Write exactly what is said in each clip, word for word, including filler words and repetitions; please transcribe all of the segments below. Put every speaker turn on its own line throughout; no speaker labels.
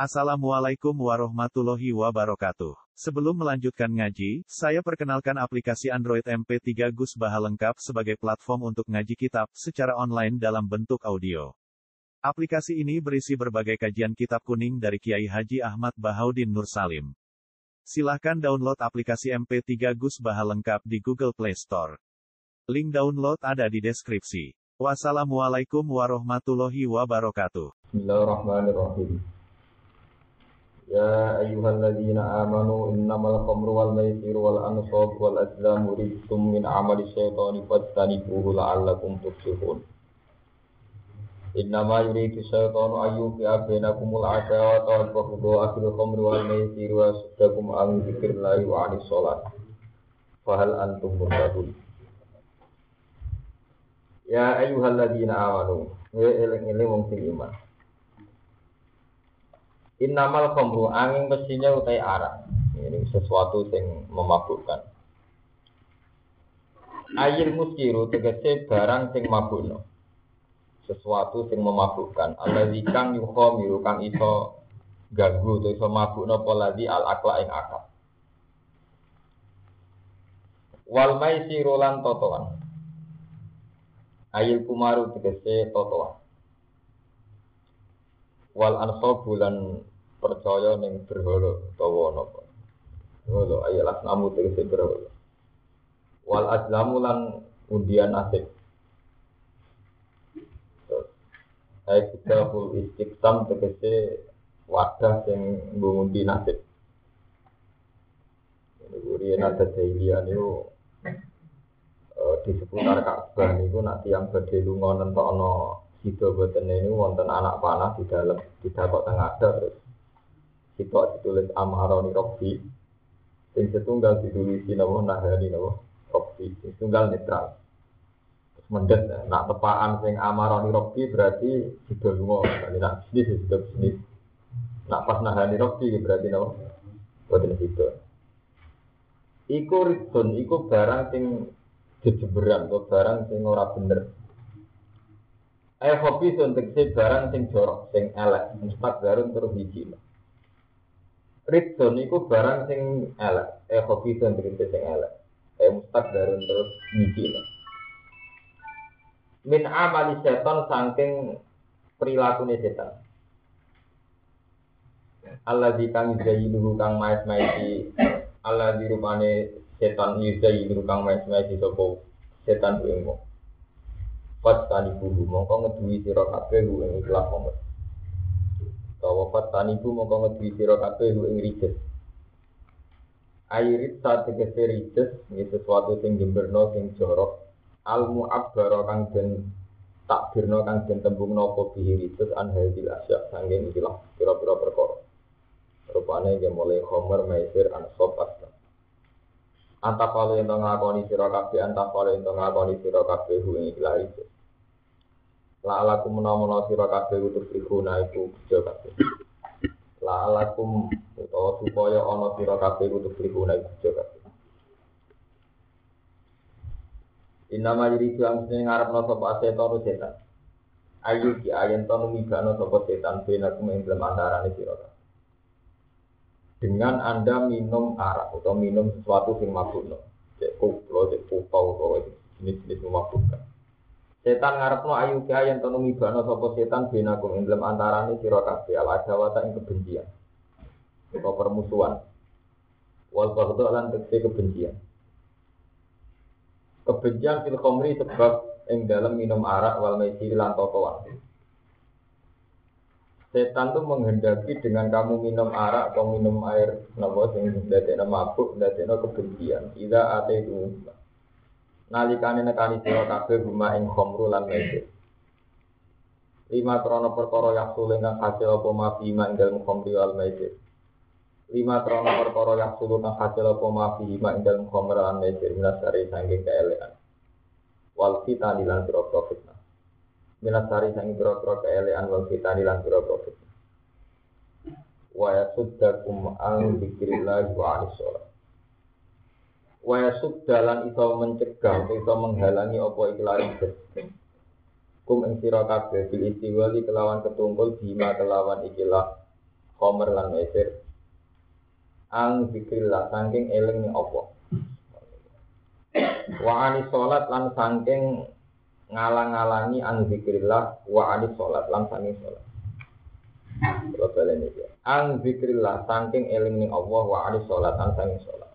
Assalamualaikum warahmatullahi wabarakatuh. Sebelum melanjutkan ngaji, saya perkenalkan aplikasi Android M P tiga Gus Baha lengkap sebagai platform untuk ngaji kitab secara online dalam bentuk audio. Aplikasi ini berisi berbagai kajian kitab kuning dari Kiai Haji Ahmad Bahaudin Nur Salim. Silahkan download aplikasi M P tiga Gus Baha lengkap di Google Play Store. Link download ada di deskripsi. Wassalamualaikum warahmatullahi wabarakatuh.
Bismillahirrahmanirrahim. Ya ayyuhalladzina amanu innamal khamru wal maisiru wal ansab wal azlamu rijsum min amali syaitani fajtanibuhu la'allakum tuflihun. Innama yuridu syaitanu ayyuqi'a bainakumul adawata wal baghdha'a fil khamri wal maisiri wa yasuddakum an dzikrillahi wa 'anis shalah. Fahal antum muhtadun? Ya ayyuhalladzina amanu wa eling-eling wong sing iman. Innamal khamru angin mestinya utai arak. Ini sesuatu yang memabukkan. Ayil muskiru tegese barang sing mabukno. Sesuatu sing memabukkan. Allazi kang yukhamiru kang iso ganggu iso mabukno poladi al akla ing akal. Wal maisiru lan totoan. Ayil kumaru tegese totoan. Wal ansabu lan percaya ning berhala utawa napa. Lho ayat asnamu tegese berhala. Wal azlamu lan undian nasib. Ayat kitabul istiqsam tegese wadah sing ngundi nasib. Ini ada jahiliyah niku di seputar Ka'bah niku nek tiyang badhe lunga nentokno sida boten niku wonten anak panah di dalam tidak kok tengah ada terus sitok ditulis amaroni robbi sing setunggal ditulis napa nahani napa robbi sing tunggal netral terus mendet nak tepaan sing amaroni robbi berarti sida lunga berarti nak bisnis sida bisnis nak pas nahani robbi berarti napa boten sida iku ridon iku barang sing jejeberan atau barang sing ora bener. Eh hobi untuk si barang sing jorok, sing elek, mustak darun terus hiji. Ridson iku barang sing elek, eh hobi untuk si sing elek, eh mustak darun terus hiji. Min amali setan saking perilaku setan. Allah di kang yuzayinuhu kang maes-maesi, Allah di rupane setan yuzayinuhu kang maes-maesi sopo setan kuingmu. Fat tanibu mongko ngeduwi sira kabeh ing ikhlas momen. Tawa fat tanibu mongko ngeduwi sira kabeh ing rijes. Airit sak tegese rijes iki sesuatu sing jemberno sing jorok. Al mu'abbara kang den takbirno kang den tembungno apa bihi rijes an hadil asya sanging ikhlas pira-pira perkara. Rupane nggih mulai khomer maisir ansab asta. Antapalo ento ngakoni sira kabeh antapalo ento ngakoni sira kabeh ing ikhlas. La alakum menawa sira kabeh utus ikhuna iku bejo kabeh. La alakum utawa supaya ana sira kabeh utus ikhuna iku bejo kabeh. Inama yuri jam sing ngarepno sapa setan setan. Ayu ki ayen to numigano sapa setan benakum ing dalem antarane sira kabeh. Dengan Anda minum arak atau minum sesuatu sing mabukno. Cek koplo, cek pupau utawa jenis-jenis memabukkan. Setan ngarepno ayu kaya yen to numibano sapa setan benakum ing dalem antarane sira kabeh ala jawata ing kebencian. Utawa permusuhan. Wal baghdha lan tekse kebencian. Kebencian fil khamri sebab ing dalem minum arak wal maisir lan totoan. Setan itu menghendaki dengan kamu minum arak atau minum air napa sing ndadekno mabuk, ndadekno kebencian. Ida ate itu nalikane nekani sira kabeh guma ing khamru lan maisir. Lima krono perkara yaksul kang hasil apa mafi ing dalem khamri wal maisir. Lima krono perkara yaksul kang hasil apa mafi ing dalem khamri lan maisir minasari sanging keelekan. Wal fitani lan pira-pira fitnah. Minasari sanging pira-pira keelekan wal fitani lan pira-pira fitnah. Wa yasuddakum an dzikrillah wa 'anis shalah. Waya subdalan iso mencegah, iso menghalangi apa ikhlari kum ing sira kabeh bil istiwali kelawan ketungkul bima kelawan ikilah khamr lan maisir ang zikrillah saking eling Allah wa ani salat lan saking ngalang-alangi ang zikrillah wa ani salat lan saking salat kula baleni iki ang zikrillah saking eling ning Allah wa ani salat lan saking salat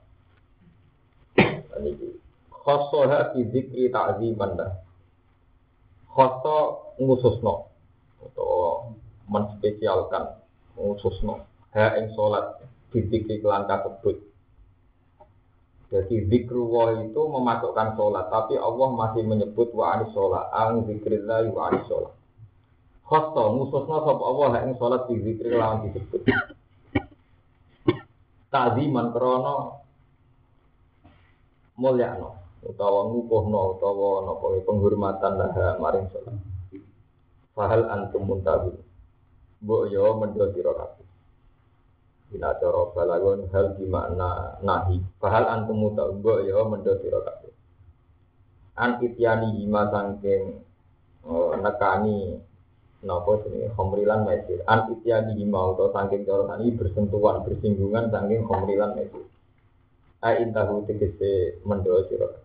niki khossoha fi zikri ta'ziman dah khosso ngususno atau menspesialkan ngususno ha ing salat dizikri kelan kasebut. Jadi zikrullah itu memasukkan salat tapi Allah masih menyebut wa anis salat ang zikrillah wa anis salat. Khosso ngususno sapa Allah ha ing salat dizikri lan disebut. Ta'ziman krana mulyakno utawa ngukuhno utawa napa penghormatan lah maring salat. Fahal antum muntabin. Mbok yo mendho sira kabeh. Bila cara balagon hal di makna nahi. Fahal antum muntabin mbok yo mendho sira kabeh. An ityani hima sangking oh, nekani napa jenenge khamrilan maisir. An ityani hima utawa sangking cara tani bersentuhan bersinggungan sangking khamrilan maisir. A intahu tegese mendho sira kabeh.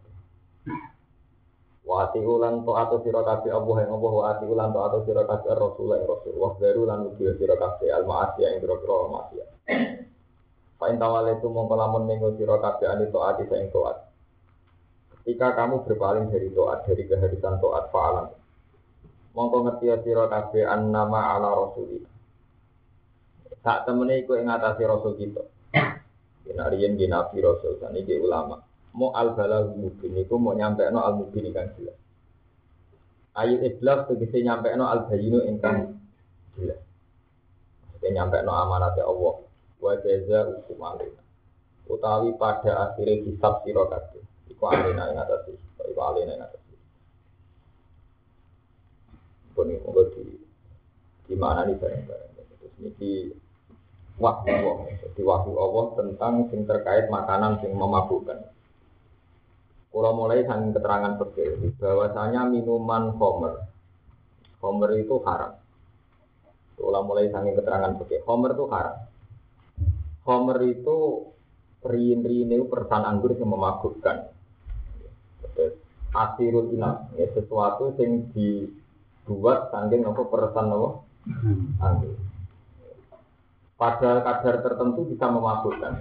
Wa ati ulan to ato sira kabeh Allah ing Allah wa ati ulan to ato sira kabeh Rasul ing Rasul wa daru lan ugi sira kabeh al ma'asiyah ing grogro ma'asiyah. Fa intawale tu mongko lamun ning sira kabeh ani to ati sing taat. Ketika kamu berpaling dari taat dari kehadisan taat fa'alan. Mongko ngerti sira kabeh annama ala rasulillah. Sak temene iku ing atase rasul kita. Yen ariyen di nabi rasul saniki ulama. Mo al-balagh mubin iku mau nyampekno al-mubin kan jelas. Ayat iblas tegese nyampekno al-bayyinu ingkang jelas. Tegese nyampekno amanate Allah. Wa jaza hukum alina. Utawi pada akhire hisab sira kabeh. Iku alina ing atase, iku alina ing atase. Pun iki di di mana nih bareng-bareng. Terus niki wahyu Allah, jadi wahyu Allah tentang sing terkait makanan sing memabukkan. Kalau mulai sang keterangan fikih bahwasanya minuman khamr, khamr itu haram. Kalau mulai sang keterangan fikih, khamr itu haram. Khamr itu rin-rin itu persan anggur yang memabukkan. Asirul inab, ya, sesuatu yang dibuat saking apa persan apa anggur. Pada kadar tertentu bisa memabukkan.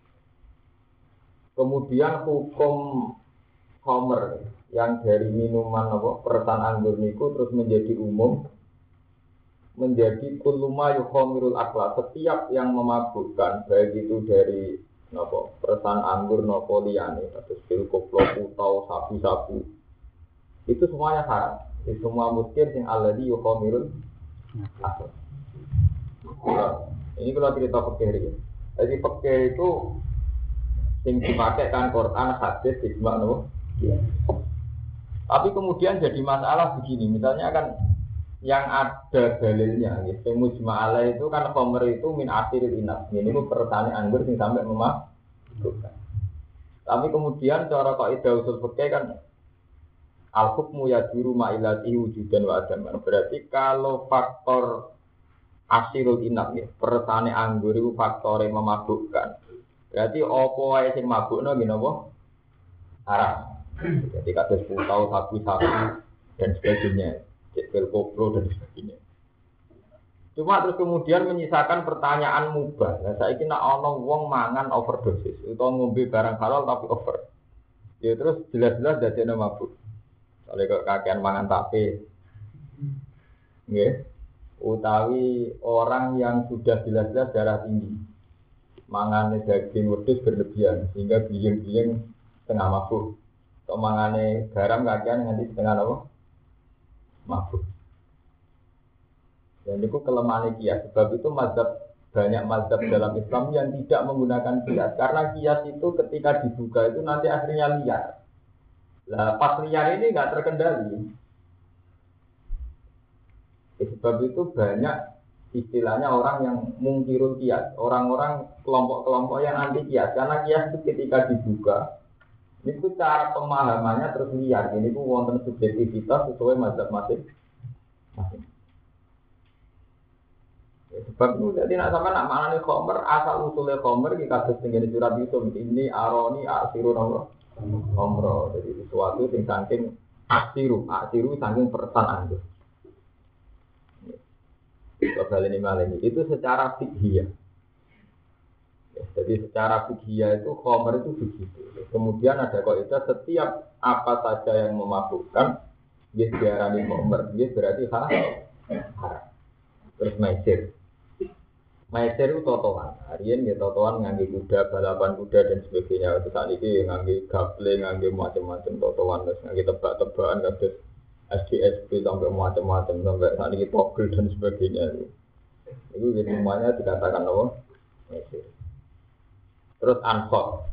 Kemudian hukum khamr yang dari minuman apa persan anggur niku terus menjadi umum menjadi kullu ma yukhamirul akla setiap yang memabukkan baik itu dari napa persan anggur napa liyane terus pil koplo putau sabu-sabu itu semuanya haram itu semua muskil sing alladhi yukhamirul akla. Nah, ini kalau cerita fikih ya. Jadi fikih itu sing dipakai kan Quran hadis ijma no. Ya. Tapi kemudian jadi masalah begini, misalnya kan yang ada dalilnya, gitu. Mujma'ala itu kan khamr itu min asiril inab. Ini itu pertanyaan anggur yang sampai memabukkan. Tapi kemudian cara kaidah usul fikih kan al hukmu yaduru ma'ilati wujudan wa adaman. Berarti kalau faktor asirul inab ya, pertanyaan anggur itu faktor yang memabukkan. Berarti apa wae sing mabukno nggih napa? Haram. Jadi kados putau, sabu-sabu dan sebagainya, cekil koplo dan sebagainya. Cuma terus kemudian menyisakan pertanyaan mubah. Nah, saiki nek ana wong mangan overdosis utawa ngombe barang halal tapi over. Ya terus jelas-jelas dadekno mabuk. Soale kok kakean mangan tape. Nggih. Utawi orang yang sudah jelas-jelas darah tinggi. Mangane daging wedhus berlebihan sehingga biyeng-biyeng setengah mabuk. Atau mangane garam kakean nganti setengah apa? Mabuk. Dan itu kelemahan kias. Sebab itu mazhab banyak mazhab dalam Islam yang tidak menggunakan kias. Karena kias itu ketika dibuka itu nanti akhirnya liar. Lah pas liar ini nggak terkendali. Sebab itu banyak istilahnya orang yang mungkirul kias. Orang-orang kelompok-kelompok yang anti kias. Karena kias itu ketika dibuka ini tuh cara pemahamannya terus liar. Ini tuh wonten subjektivitas sesuai mazhab masing-masing. Sebab itu jadi nak sama nak mana nih komer asal usulnya komer kita kasus tinggal di surat itu ini aroni asiru nomor komro jadi sesuatu yang saking asiru asiru saking perasaan itu. Soal ini malah ini itu secara fikih. Ya, jadi secara fikih itu komer itu begitu. Kemudian ada kaidah setiap apa saja yang memabukkan dia diarani komer dia berarti haram. Terus maisir. Maisir itu totoan. Harian ya totoan ngangge kuda, balapan kuda dan sebagainya. Itu saat ini ngangge gaple, ngangge macam-macam totoan, terus ngangge tebak-tebakan, terus S D S P sampai macam-macam, sampai saat ini togel dan sebagainya. Itu semuanya dikatakan apa? Maisir. Terus ansot.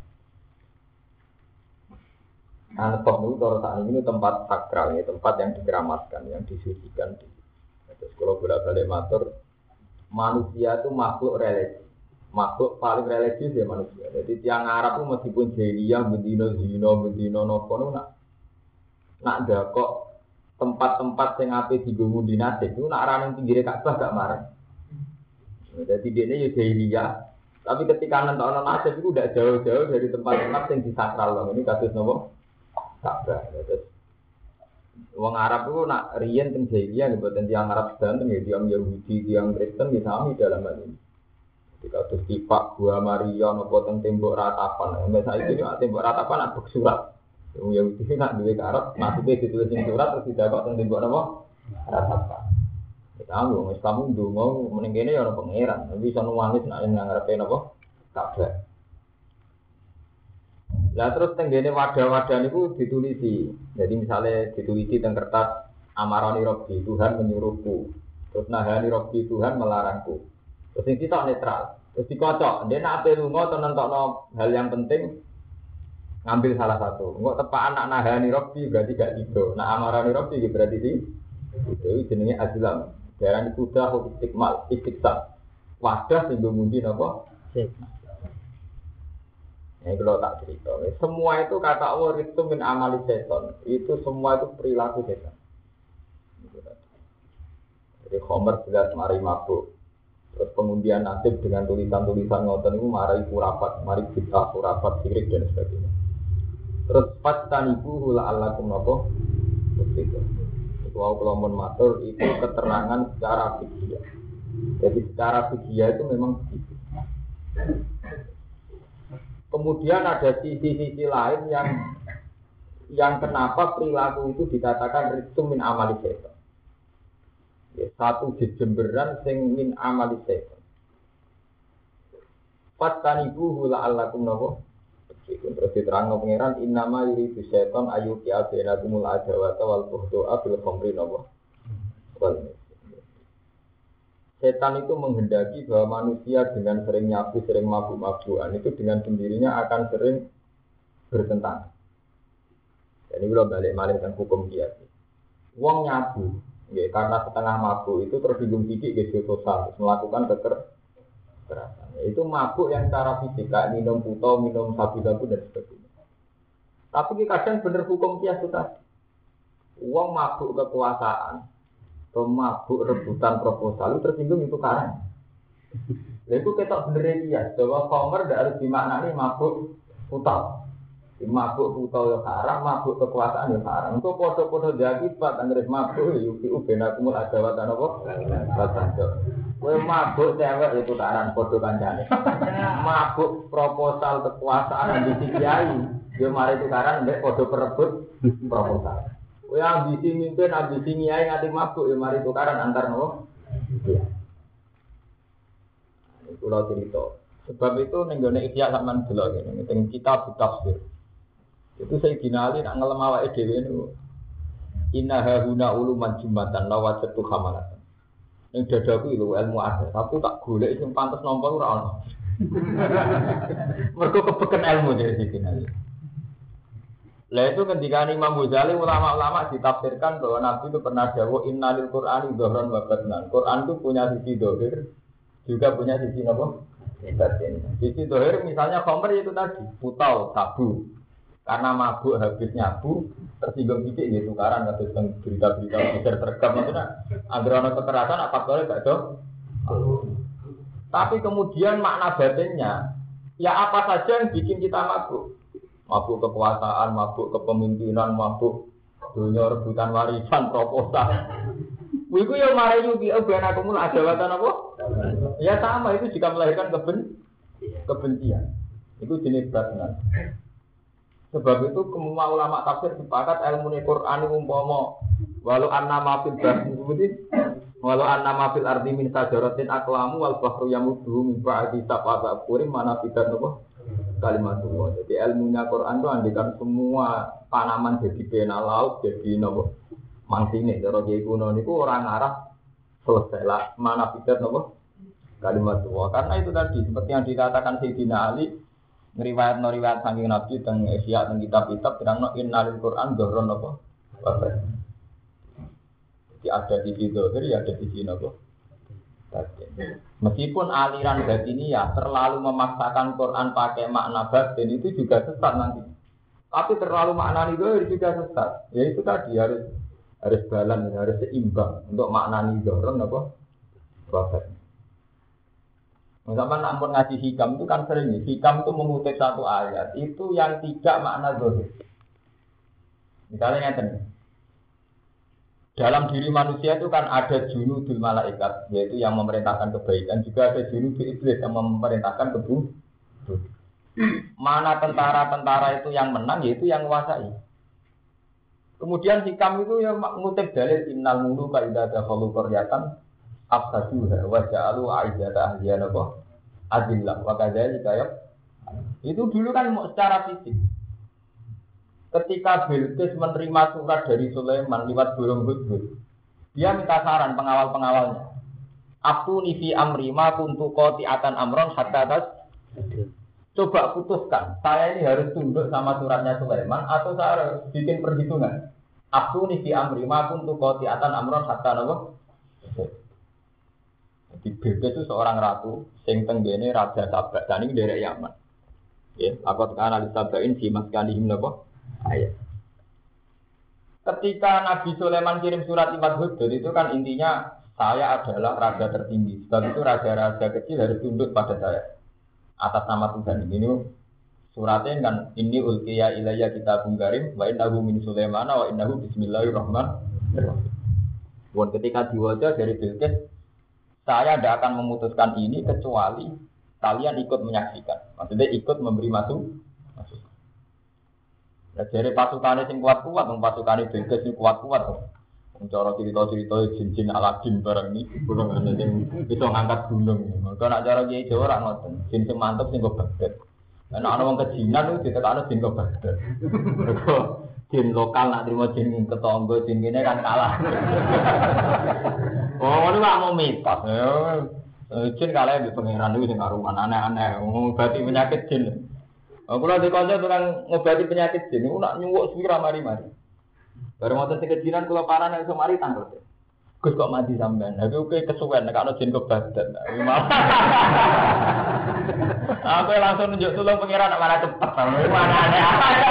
Ansot itu kalau saat ini tempat sakral, ya, tempat yang dikeramatkan, yang disucikan. Terus kalau bolak-balik matur, manusia itu makhluk religi, makhluk paling religius ya manusia. Jadi tiang Arab itu meskipun jahiliyah, bedino zino, bedino nopo, nak nak ada kok tempat-tempat yang ape digunggu di nasib itu nak raneng pinggir Ka'bah gak marah. Jadi dia ini ya jahiliyah, tapi ketika nonton nasib itu udah jauh-jauh dari tempat-tempat yang disakral loh. Ini kasus nopo Ka'bah. Terus wong Arab itu nak riyen teng jahiliyah mboten tiyang Arab sedanten ya tiyang Yahudi, tiyang Kristen ya sami dalam hal ini. Ketika terus tipak gua Maria napa teng tembok ratapan. Nek saiki nek tembok ratapan nak bek surat. Wong Yahudi nak duwe Arab, maksude ditulis ing surat terus didakok teng tembok napa? Ratapan. Kita wong Islam ndonga meneng kene ya ora pangeran, tapi iso nuwangis nek ngarepe napa? Kabeh. Lah terus tenggene wadah-wadah niku ditulisi. Jadi misalnya ditulisi teng kertas amarani Robbi Tuhan menyuruhku. Terus nahani Robbi Tuhan melarangku. Terus iki tok netral. Terus dikocok, ndek nek ape lunga to nentokno hal yang penting ngambil salah satu. Engko tepak anak nahani Robbi berarti gak tido. Nak amarani Robbi berarti di itu jenenge azlam. Darani kuda istiqmal, istiqsal. Wadah sing mundi napa? Ini kalau tak cerita, semua itu kata Allah itu min amali setan, itu semua itu perilaku setan. Jadi Khomer jelas mari mabuk, terus pengundian nasib dengan tulisan-tulisan ngoten itu mari kurapat, mari kita kurapat sirik dan sebagainya. Terus pas tanibu hula alakum nopo, itu. Itu aku kalau matur itu keterangan secara fikih. Jadi secara fikih itu memang begitu. Kemudian ada sisi-sisi lain yang yang kenapa perilaku itu dikatakan rizqum min amali setan. Ya, satu jejemberan sing min amali setan. Fatanibu hula allakum nopo. Terus diterangno pangeran innama yuridu setan ayu ki abenakumul adawata wal bughda bil khamri nopo. Wal Setan itu menghendaki bahwa manusia dengan sering nyabu, sering mabuk-mabukan itu dengan sendirinya akan sering bertentangan. Jadi kalau balik malih tentang hukum kias. Wong nyabu, ya, karena setengah mabuk itu tersinggung sedikit gitu sosial, melakukan kekerasan. Ya, itu mabuk yang secara fisik, kayak minum putau, minum sabu-sabu dan sebagainya. Tapi kadang bener hukum kias itu tadi. Wong mabuk kekuasaan. Mabuk rebutan proposal itu tersinggung itu karang. Nah, itu ketok bener dia, bahwa Khomer tidak harus dimaknani mabuk putau. Mabuk putau ya karang, mabuk kekuasaan ya karang. Untuk podo-podo jadi pak anggrek mabuk yuki ubena kumul adawatan apa? Batanjo. Kue mabuk cewek itu karang podo kancane. Mabuk proposal kekuasaan ambisi kiai, dia mari itu karang ndek podo perebut proposal. Oh ya ambisi mimpin, ambisi nyai ngati mabuk ya mari tukaran antar nopo. Iya. Ini pulau cerita. Sebab itu nenggone ikhya sampean delok ngene, teng kitab tafsir. Itu saya dinali nak ngelem awake dhewe niku. Inna hauna uluman jumatan lawajatu khamalatan. Ning dadaku lho ilmu ada, tapi tak golek sing pantes nampa ora ono. Mergo kebeken ilmu dari dinali. Lah itu ketika Imam Ghazali ulama-ulama ditafsirkan bahwa Nabi itu pernah dawuh innalil Qur'ani dhahran wa batnan. Quran itu punya sisi dhahir, juga punya sisi apa? Batin. Sisi dhahir misalnya khamr itu tadi, putau, sabu. Karena mabuk habis nyabu, tersinggung dikit gitu tukaran kados berita-berita besar terekam maksudnya anggere ana kekerasan apa kok gak do. Tapi kemudian makna batinnya, ya apa saja yang bikin kita mabuk. Mabuk kekuasaan, mabuk kepemimpinan, mabuk dunia rebutan warisan, proposal. Iku ya mari yuki ben aku mul adawatan apa? Ya sama itu jika melahirkan keben kebencian. Itu jenis batinan. Sebab itu semua ulama tafsir sepakat ilmu Quran itu umpama walau anna ma fil bahri walau anna ma fil ardi min sajaratin aqlamu wal bahru yamuddu min ba'di sab'ati abhurin mana fitan apa kalimatullah. Jadi ilmunya Quran itu andikan semua tanaman jadi pena laut jadi napa mangsine cara kiai kuno niku ora ngarah selesai lah mana fitan apa kalimatullah. Karena itu tadi seperti yang dikatakan Sayyidina Ali ngriwayat no riwayat saking Nabi teng Ihya teng kitab-kitab terangno innalil Quran dhahron apa? Bapak. Jadi ada di situ, jadi ada di sini apa? Meskipun aliran batin ini ya terlalu memaksakan Quran pakai makna batin itu juga sesat nanti. Tapi terlalu makna itu juga sesat. Ya itu tadi harus harus balance, harus seimbang untuk makna dhahron apa? Bapak. Misalkan ampun ngaji hikam itu kan sering nih. Hikam itu mengutip satu ayat itu yang tidak makna zahir. Misalnya ngeten. Dalam diri manusia itu kan ada junudul malaikat, yaitu yang memerintahkan kebaikan, juga ada junudul iblis yang memerintahkan keburukan. Mana tentara-tentara itu yang menang, yaitu yang menguasai. Kemudian hikam itu yang mengutip dalil innal muluka idza dakhalu qaryatan afsaduha wa ja'alu a'izzata ahliha apa adillah wa kadzalika ya. Itu dulu kan secara fisik. Ketika Bilqis menerima surat dari Sulaiman lewat burung hudhud, dia minta saran pengawal-pengawalnya. Atuni fi amri ma kuntu qati'atan amron hatta tas. Coba putuskan, saya ini harus tunduk sama suratnya Sulaiman atau saya harus bikin perhitungan. Atuni fi amri ma kuntu qati'atan amron hatta nawa. Di Bilqis itu seorang ratu, sing tenggene raja Saba, dan ini dari Yaman. Ya, aku tekan alis Sabain si maskanihim napa? Ayat. Ketika Nabi Sulaiman kirim surat lewat hudhud itu kan intinya saya adalah raja tertinggi. Sebab itu raja-raja kecil harus tunduk pada saya. Atas nama Tuhan ini suratnya kan ini ulqiya ilayya kitabun karim wa innahu min Sulaiman wa innahu bismillahirrahmanirrahim. Buat ketika diwaca dari Bilqis, saya tidak akan memutuskan ini kecuali kalian ikut menyaksikan. Maksudnya ikut memberi masuk. Nah, dari pasukannya yang kuat-kuat, pasukannya Bilqis yang kuat-kuat. Cara cerita-cerita jin-jin Aladin barang ini, gunung ada yang bisa ngangkat gunung. Kalau nak cara kiai Jawa orang ngoten, jin yang mantap sing kok Baghdad. Nah, ana wong kejinan itu ditekan jin kok Baghdad. Jin lokal nak terima jin ketangga jin kene kan kalah. Oh, ini mah mau mitos. Jin kalah di pangeran itu sing karuan aneh-aneh, ngobati penyakit jin. Aku lagi kanca tukang ngobati penyakit jin, aku nak nyuwuk suwira mari-mari. Bareng wonten sing kejinan kula paran iso mari tanglet. Gus kok mati sampean. Aku kowe kesuwen nek ana jin kok badan. Aku langsung nunjuk tulung pangeran nek malah cepet. Mana aneh.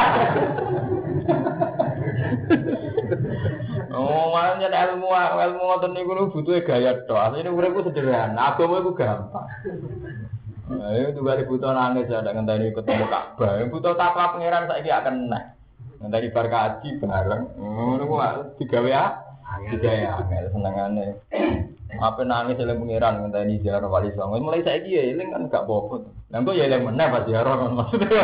Oh, makanya ilmu ilmu ngoten niku butuhe gaya tok. Asline uripku sederhana, agama iku gampang. Ayo juga dibutuh nangis ya, ada ngenteni ketemu Ka'bah. Butuh takwa pangeran saiki akan nah. Ngenteni bar kaji bareng. Ngono ku digawe ah. Digawe angel senengane. Apa nangis oleh pangeran ngenteni ziarah Wali Songo. Mulai saiki ya eling kan gak apa-apa. Lah kok ya eling meneh pas ziarah maksudnya.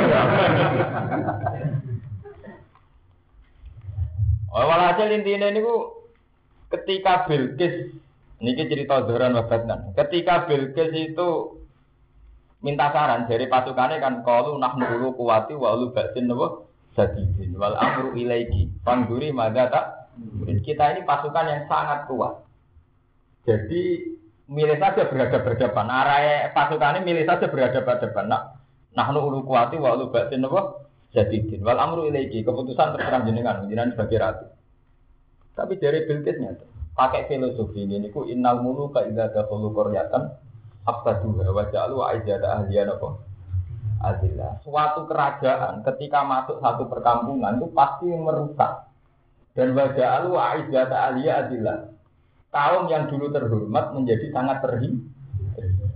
Oh, walhasil intinya ini ku ketika Bilqis, ini cerita Zoran Wabatnan. Ketika Bilqis itu minta saran dari pasukannya kan kalau nahnu ulu kuwati wa ulu batin nawa sadidin wal amru ilaiki pangguri mada tak. Kita ini pasukan yang sangat kuat. Jadi milih saja berhadapan-hadapan. Arah pasukannya milih saja berhadapan-hadapan. Nah, nahnu ulu kuwati wa ulu batin nawa sadidin wal amru ilaiki keputusan terserah jenengan jenengan sebagai ratu. Tapi dari Bilqisnya pakai filosofi ini niku innal muluka idza dakhalu qaryatan afsaduha wa ja'alu a'izzata ahliha apa adillah. Suatu kerajaan ketika masuk satu perkampungan itu pasti merusak. Dan wa ja'alu a'izzata ahliha adillah. Kaum yang dulu terhormat menjadi sangat terhina.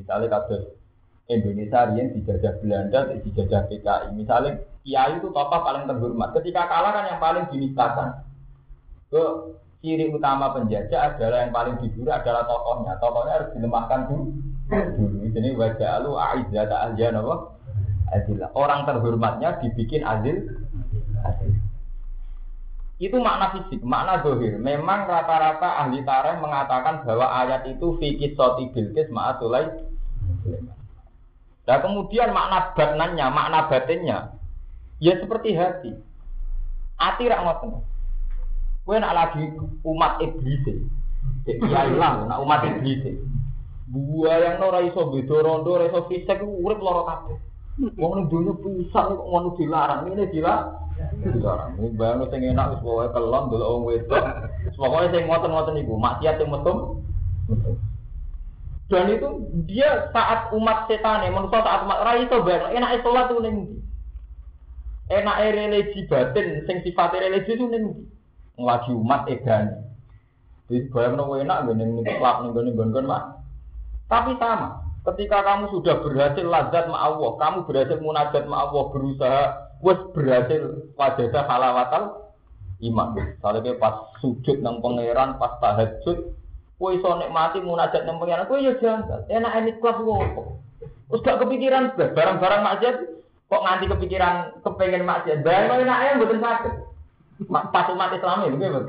Misalnya kasus Indonesia yang dijajah Belanda, dijajah P K I. Misalnya kiai itu tokoh paling terhormat. Ketika kalah kan yang paling dinistakan. Ke ciri utama penjajah adalah yang paling diburu adalah tokohnya. Tokohnya harus dilemahkan dulu. Dulu. Jadi wajah lu aizzata ahliya apa? Adillah. Orang terhormatnya dibikin adil. Adil. Itu makna fisik, makna zahir. Memang rata-rata ahli tarikh mengatakan bahwa ayat itu fi qissati Bilqis ma'a Sulaiman. Nah kemudian makna batnannya, makna batinnya, ya seperti hati. Hati rak ngoten. Kowe nak lagi umat iblis. Ya ilang, nak umat iblis. Buaya yang ora iso beda rondo, ora iso fisik urip lara kabeh. Wong ning donya pisan kok ngono dilarang, ngene dilarang. Dilarang. Wong bayang sing enak wis pokoke kelon delok wong wedok. Pokoke sing ngoten-ngoten niku, maksiat sing metu. Dan itu dia saat umat setan ya, manusia saat umat ora iso bayang, enake salat ku ning ndi? Enake religi batin sing sifate religi ku ning ndi? Nglaji umat edan. Jadi bayangno enak ngene ning klub ning nggon-nggon mak. Tapi sama. Ketika kamu sudah berhasil lazat ma Allah, kamu berhasil munajat ma Allah, berusaha wis berhasil wajada halawatal iman. Saleh pas sujud nang pangeran, pas tahajud, kowe iso nikmati munajat nang pangeran, kowe yo janggal. Enak enik kelas opo? Wis gak kepikiran barang-barang maksiat kok nganti kepikiran kepengin maksiat. Barang enake mboten saged. Pas umat Islam itu begitu.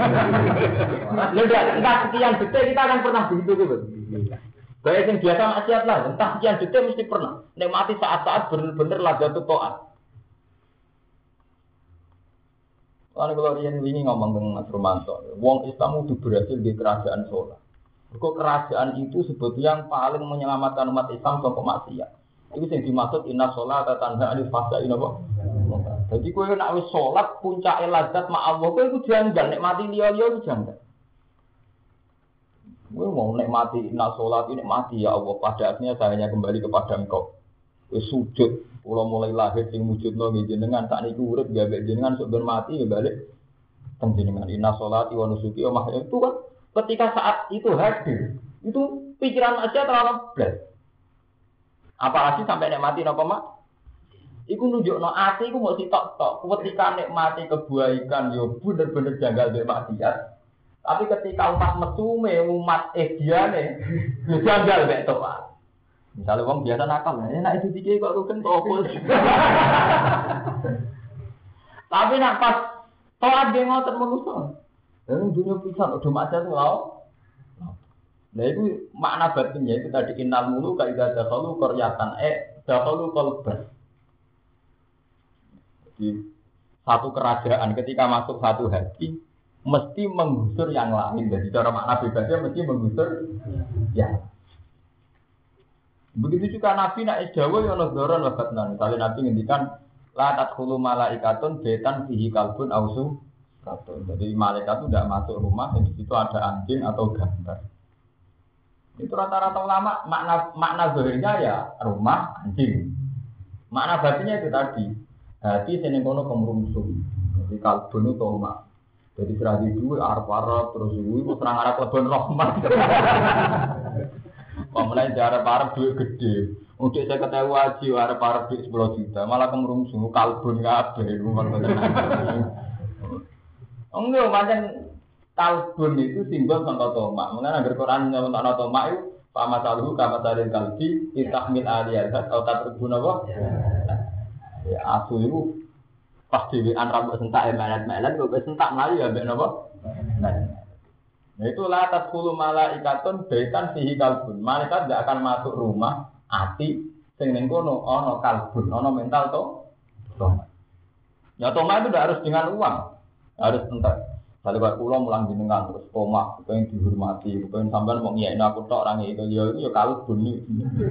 Lha entah sekian detik kita akan pernah begitu gitu. Baik yang biasa maksiat lah, entah sekian detik mesti pernah nikmati saat-saat bener-bener ladzatut taat. Kalau kalau riyen wingi ngomong dengan Mas Romanto, wong Islam itu berhasil di kerajaan sholat. Kok kerajaan itu sebetulnya yang paling menyelamatkan umat Islam dari maksiat. Itu yang dimaksud inna sholata tanha 'anil fahsya'i napa. Jadi kowe nek wis sholat puncake ladzat ma Allah, kowe iku janggal nikmati liya-liya iku janggal. Gue mau nikmati nak sholat ini mati ya Allah. Pada akhirnya saya hanya kembali kepada Engkau. Gue sujud, kalau mulai lahir sing wujud no jenengan tak niku urip ya jenengan sebelum mati ya balik jenengan. Inna sholati wa nusuki wa mahyaya itu kan ketika saat itu hadir itu pikiran aja terlalu blas. Apalagi sampai nikmati napa mak? Iku nunjukno ati iku mau sitok-tok. Ketika nikmati kebaikan yo bener-bener janggal mbek maksiat. Tapi ketika umat mesume, umat ediane, janggal mek toat. Misalnya wong biasa nakal, enak itu dikek kok rukun opo. Tapi nak pas toat ge ngoten manusa. Lah dunya pisan udah macet lho. Nah itu makna batinnya itu tadi innal mulu ka idza dakhalu qaryatan eh dakhalu qalban. Jadi satu kerajaan ketika masuk satu hati mesti menggusur yang lain. Jadi cara makna bebasnya mesti menggusur ya. Begitu juga Nabi nak isdawa ya ono doron wabatnan. Misalnya Nabi ngendikan la tadkhulu malaikatun betan fihi kalbun ausu katun. Jadi malaikat itu tidak masuk rumah yang di situ ada anjing atau gambar. Itu rata-rata ulama makna makna zahirnya ya rumah anjing. Makna batinnya itu tadi hati seneng kono kemrungsung. Jadi kalbun itu rumah. Jadi serah di dua arab-arab terus itu serang arab lebon rahmat. Pemenang arab-arab duit gede. Untuk saya ketahui wajib arab-arab duit sepuluh juta malah kemrungsung kalbun kabeh. Enggak macam kalbun itu simbol contoh tomak. Mengenai agar Quran nyebut contoh tomak itu sama saluhu kama salil kalbi itahmil aliyat atau tatribun apa? Ya asu itu pas dewean rambut sentak melet-melet kok sentak mlayu ya mbek napa? Nah itu la tadkhulu malaikatun baitan fihi kalbun. Malaikat tidak akan masuk rumah ati sing ning kono ana kalbun, ana mental to. Toma. Ya toma itu tidak harus dengan uang. Harus entek. Kalau Pak Kulo mulang jenengan terus toma, pengen dihormati, pengen sampean mau ngiyain aku tok orang itu ya itu ya kalbun iki.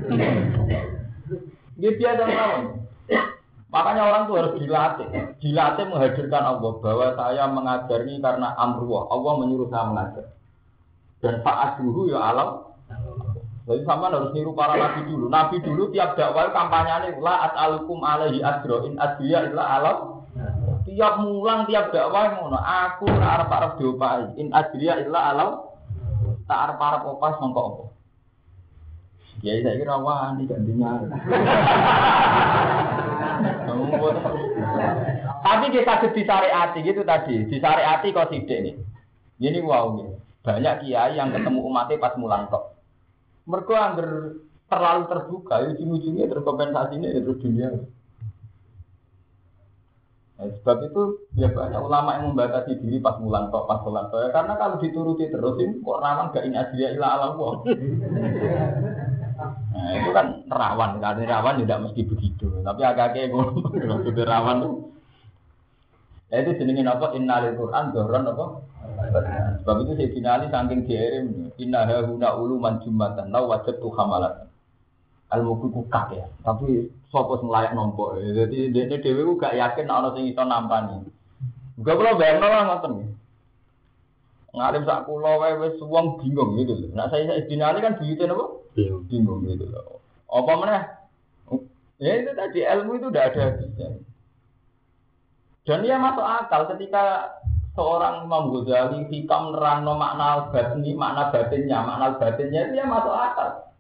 Dia biasa mawon. Makanya orang itu harus dilatih, dilatih menghadirkan Allah bahwa saya mengajar ini karena amruah, Allah menyuruh saya mengajar. Dan saat dulu ya alam. Jadi sama harus niru para nabi dulu. Nabi dulu tiap dakwah kampanyenya la as'alukum alaihi ajra in ajriya illa alam. Tiap mulang tiap dakwah ngono, aku ora arep-arep diopahi in ajriya illa alam. Tak arep-arep opas mongko apa. Kiai saya kira wani gantinya. Tapi kita disyariati gitu tadi, disyariati kok sidik nih. Ini wow nih. Banyak kiai yang ketemu umatnya pas mulang tok. Mergo angger terlalu terbuka, ujung-ujungnya terkompensasinya terus dunia. Nah, sebab itu ya banyak ulama yang membatasi diri pas mulang tok, pas sholat tok. Karena kalau dituruti terus ini kok rawan gak in adriya ila Allah. Nah, itu kan rawan, karena rawan tidak mesti begitu. Tapi agak-agak ngono, itu rawan tuh. Ya itu jenenge apa? Innalil Qur'an dhahran apa? Sebab itu saya finali saking diirim inna hauna uluman jumatan law wajadtu hamalat. Ilmu ku kak ya. Tapi sapa sing layak nampa. Jadi dene dhewe ku gak yakin ana sing iso nampani. Enggak kula bayangno lah ngoten. Ngalim sak kula wae wis wong bingung gitu lho. Nek saya finali kan buyute napa? Bingung gitu loh. Apa meneh? Ya itu tadi ilmu itu udah ada habisnya. Dan dia masuk akal ketika seorang Imam Ghazali hikam nerangno makna batini, makna batinnya, makna batinnya dia masuk akal.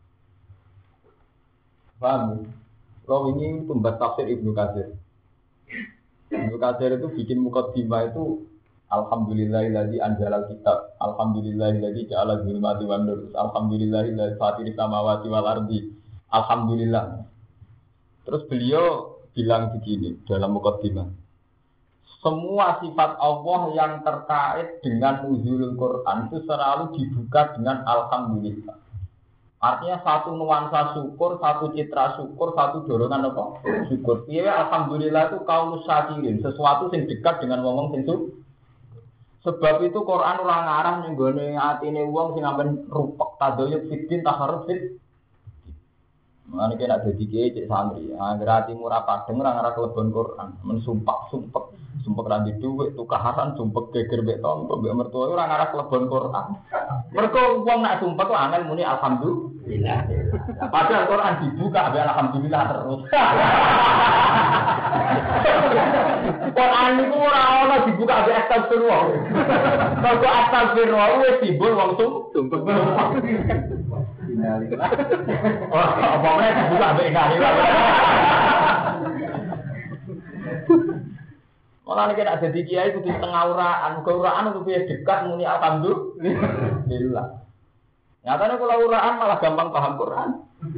Paham? Kalau ini pembaca tafsir Ibnu Katsir. Ibnu Katsir itu bikin mukadimah itu Alhamdulillahilladzi anzalal kitab. Alhamdulillahilladzi ja'ala dzulumati wan nur. Alhamdulillahilladzi fatiris samawati wal ardi. Alhamdulillah. Terus beliau bilang begini dalam mukadimah. Semua sifat Allah yang terkait dengan nuzulul Quran itu selalu dibuka dengan alhamdulillah. Artinya satu nuansa syukur, satu citra syukur, satu dorongan apa? Syukur. Iya, alhamdulillah itu kaulus syakirin, sesuatu yang dekat dengan ngomong sing syukur. Sebab itu Quran ora ngarah ning gone atine wong sing amben rupek tadoyuk fitin taharruf fit. Mane kena dadi kiye cek santri, anggere atimu ora padeng ora ngarah kelebon Quran, men sumpah-sumpah, sumpah ra di dhuwit, tukaran sumpah geger mbek tonggo mbek mertua ora ngarah kelebon Quran. Mergo wong nek sumpah ku angel muni alhamdulillah. Padahal Quran dibuka mbek alhamdulillah terus. Quran niku ora ana dibuka mbek astagfirullah. Mergo astagfirullah wis simbol wong sumpah. Oh, apa meneh dibuka mbek ngene. Malah nek ada di kiai kudu setengah uraan, muga uraan luwih dekat muni alhamdulillah. Nyatane kula uraan malah gampang paham Quran.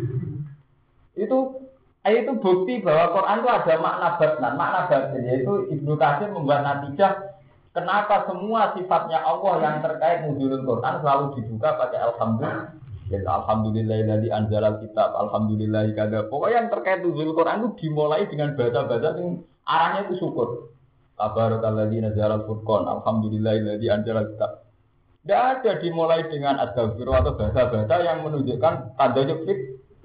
Itu itu bukti bahwa Quran itu ada makna batnan, makna batin, yaitu Ibnu Katsir membuat natijah kenapa semua sifatnya Allah yang terkait nuzulul Quran selalu dibuka pakai alhamdulillah. Alhamdulillahilladzi anzalal kitab, alhamdulillah kada. Pokoknya yang terkait nuzulul Quran itu dimulai dengan bahasa-bahasa yang arahnya itu syukur. Tabarakalladzi nazzalal furqan, alhamdulillahilladzi anzalal kitab. Tidak ada dimulai dengan astagfirullah atau bahasa-bahasa yang menunjukkan tadoyuk fit.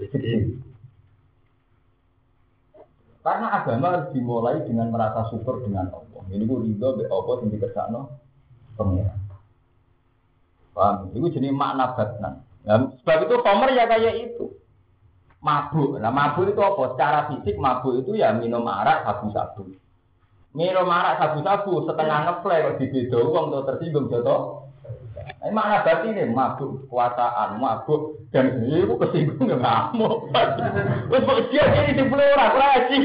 Karena agama harus dimulai dengan merasa syukur dengan Allah. Ini ku ridho be apa sing dikersakno pengiran. Paham? Itu jenis makna batnan. Nah, sebab itu Homer ya kayak itu. Mabuk. Nah, mabuk itu apa? Secara fisik mabuk itu ya minum arak sabu-sabu. Minum arak sabu-sabu setengah ngeplay kok dibedo wong to tersinggung joto. Ini makna batin ini mabuk kekuasaan, mabuk dan itu kesinggung ya ngamuk. Wes kok dia ini dipeluk ora lagi.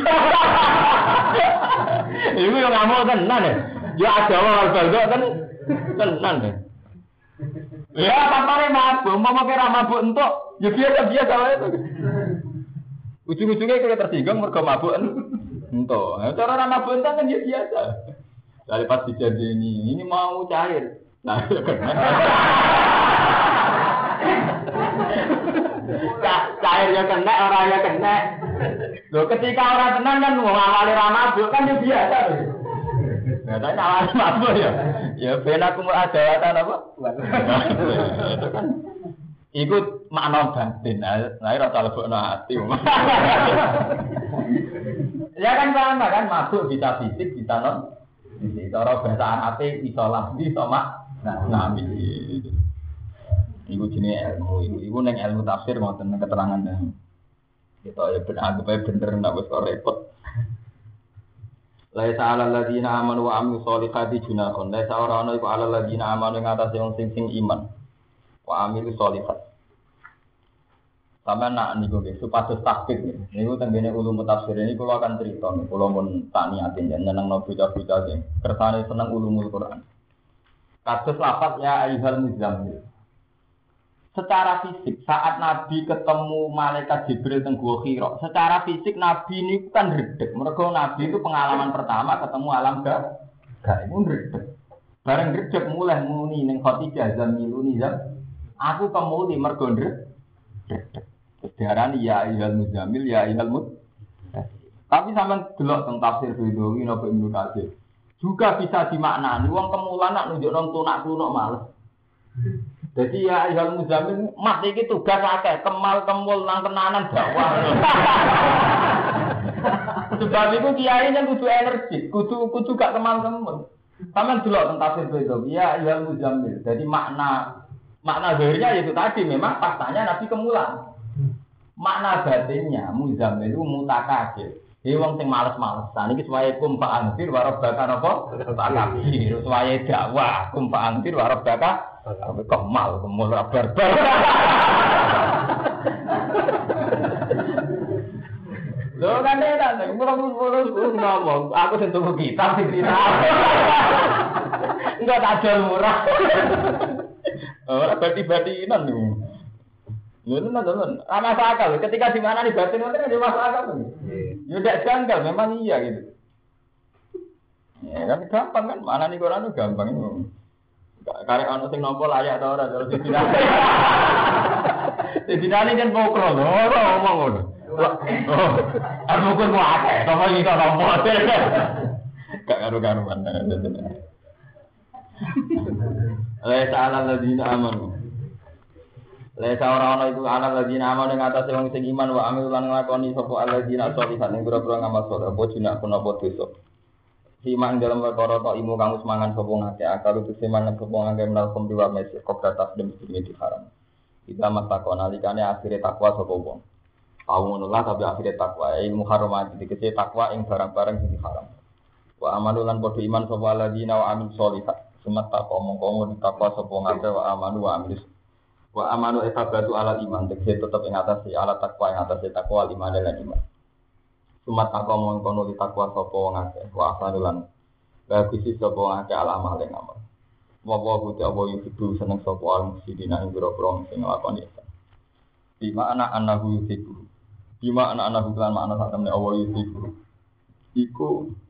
Iku yo ngamuk tenan ya. Ya ada wong baldo kan tenan ya. Ya papane mabuk, mau kira mabuk entuk, ya biasa-biasa wae to. Ujung-ujungnya kita tersinggung mergo mabuk entuk. Cara ora mabuk entuk kan ya biasa. Dari pas dijadini ini mau cair. Nah, cairnya kena, orangnya kena. Loh, ketika orang tenang kan mau ngawali ramabuk kan dia biasa. Nah, tapi ngawali mabuk ya. Ya, benar kumul adawatan apa? Itu kan ikut makna batin. Nah, ini rasa lebokno hati. Ya kan sama kan, mabuk bisa fisik, bisa non. Bisa cara bahasa Arab bisa lambi sama. Nah, nabi iku jenenge ilmu, iku ning ilmu tafsir ngoten keterangan. Kita ya ben anggap ae bener nek wis kok repot. La ta'ala alladziina aamanu wa 'amilus sholihati junahun. La ta'ala ana iku alal ladziina aamanu ing atase wong sing sing iman. Wa 'amilus sholihat. Sama nak niku nggih supados takbir nggih. Niku tenggene ulum tafsir ini kula akan cerita nih. Kula pun tak niatin yen nyenengno bocah-bocah sing kersane seneng ulumul Quran. Kados lafaz ya ayyuhal muzammil. Secara fisik saat Nabi ketemu malaikat Jibril teng Gua Hira, secara fisik Nabi ini kan redeg. Mergo Nabi itu pengalaman pertama ketemu alam gaib. Gaib redeg. Bareng redeg mulai muni ning Khadijah zamiluni zam. Aku kemuli mergo redeg. Diarani ya ayyuhal muzammil ya ayyuhal mud. Tapi sampean delok teng tafsir Ridhowi napa Ibnu Katsir. Juga bisa dimaknani wong kemulan nak nunjuk nang tunak-tunuk males. Jadi ya ayyuhal muzammil mat iki tugas akeh, kemal kemul nang tenanan dakwah. Sebab itu kiai yang kudu energi, kudu kudu gak kemal kemul. Sampeyan delok teng tafsir Ridhowi ya ayyuhal muzammil. Jadi makna makna zahirnya itu tadi memang faktanya Nabi kemulan. Makna batinnya muzammil itu mutakabir. He wong sing males-malesan iki suwaye kum fa anfir wa rabbaka napa? Takabir. Suwaye dakwah kum fa anfir wa rabbaka kemal kemul barbar. Lho kan enak, mulu-mulu ngomong, aku sing tuku kitab sing kitab. Enggak tak jual murah. Ora bati-batinan niku. Lho tenan tenan, ana akal. Ketika di mana nih batin wonten ada masalah kan? Ya ndak janggal, memang iya gitu. Ya kan gampang kan, mana nih Quran itu gampang itu. Karek ana sing nampa layak ta ora terus dibinane. Dibinane kan pokro lho, ora ngomong ngono. Oh, aku pun mau akeh, to iki kok nampa. Gak karo-karuan. Allah Ta'ala ladina amanu. Lesa ora-ora iku ana ladina amanu ing atase wong sing iman wa amil lan nglakoni sapa alladzina sholihan ing pira-pira ngamal saleh apa jinak punapa dosa. Siman dalam perkara tok imu kang semangan sapa ngake akal itu siman sapa ngake menal kumpiwa mesi kok data dem iki haram. Kita matakon alikane akhire takwa sapa wong. Tahu ngono lah tapi akhire takwa ilmu haram dikece takwa ing barang-barang sing haram. Wa amalu lan padha iman sapa alladzina wa amil sholihat. Sumat tak omong-omong ditakwa sapa ngake wa amanu wa amil wa amanu etabatu ala iman tegese tetep ing atas ala takwa ing atas takwa iman lan iman. Sumat aku mong kono ditakwa sapa wong akeh wa asalan bagus sapa wong akeh ala amal ing amal. Wa wa gusti apa yusibu seneng sapa al musidina ing boro-boro sing nglakoni isa. Di makna anahu yusibu. Di makna anahu lan makna sak temne apa yusibu. Iku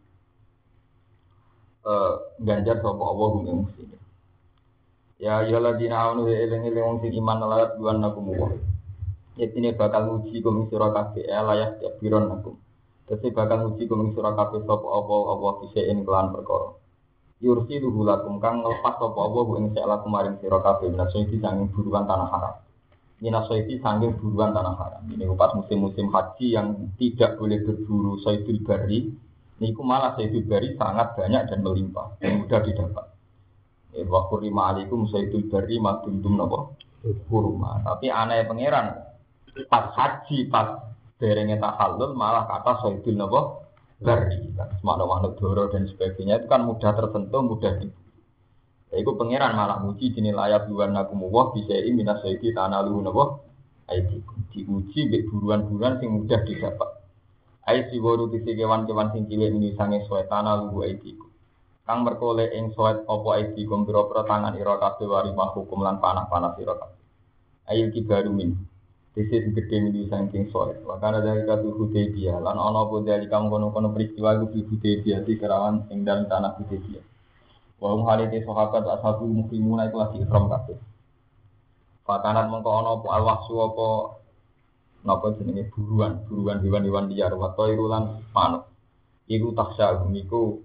eh ganjar sapa Allah ing musine. Ya ya ladina anu eling-eling wong sing iman lalat duan nakum wa. Yetine bakal nguji kum sira kabeh layak biron nakum. Dadi bakal nguji kum sira kabeh sapa apa apa disein kelan perkara. Yursi luhulakum kang nglepas sapa apa ing sela kemarin sira kabeh menawa iki sanging buruan tanah haram. Yen saiki sanging buruan tanah haram. Ini pas musim-musim haji yang tidak boleh berburu saidul bari. Niku malah saidul bari sangat banyak dan melimpah dan mudah didapat. Wa qurima alaikum sayyidul bari madundum napa kurma. Tapi aneh pangeran pas haji pas derenge tahallul malah kata sayyidul napa bari. Semakna makna doro dan sebagainya itu kan mudah tersentuh, mudah di. Ya iku pangeran malah muji jenenge layak buwan nakum wa bisai minas sayyidi tanalu napa aidikum. Diuji mbek buruan-buruan sing mudah didapat. Ai siworu dise kewan-kewan sing cilik ini sange suwe tanalu aidikum. Kang merkole ing soet apa iki kumpira-pira tangan ira kabeh wari hukum lan panah-panah sira kabeh. Ail kibaru min. Dise gedhe mili saking soet. Wakana dari katu Hudaybiyah lan ana apa dari kang kono-kono peristiwa iku Hudaybiyah di kerawan ing dalem tanah Hudaybiyah. Wa hum halite sahabat ashabu muslimun iku lagi ihram kabeh. Fakanat mengko ana apa alwahsu apa napa jenenge buruan, buruan hewan-hewan liar wa tairulan manuk. Iku taksa niku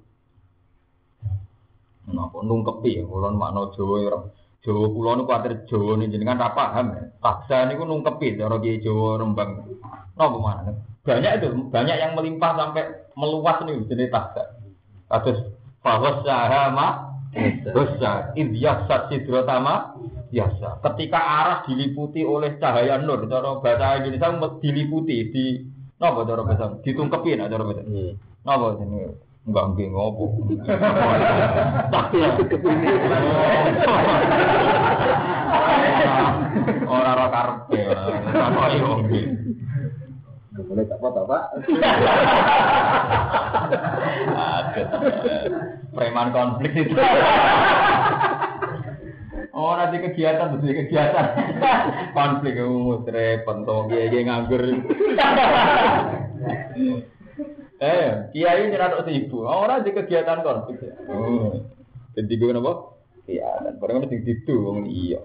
napa nungkepi kula makna Jawa ora Jawa kula niku kuwatir Jawa niku jenengan ra paham taksa niku nungkepi cara Kiai Jawa Rembang napa mana banyak itu banyak yang melimpah sampai meluas niku jenenge taksa kados fawassaha ma dosa idyasat sidratama biasa ketika arah diliputi oleh cahaya nur cara bahasa Indonesia diliputi di napa cara bahasa ditungkepi nek cara bahasa napa jenenge enggak nggih ngopo. Tapi kepene. Ora ora karepe. Ora yo. Boleh tak apa Pak? Aduh. Preman konflik itu. Oh, nanti kegiatan, betul kegiatan. Konflik umum, repot, toh, kiai nganggur. Eh, kiai ini rada sibuk. Orang di kegiatan konflik. Oh, jadi gue napa? Iya, dan barang mesti ditu, wong iya.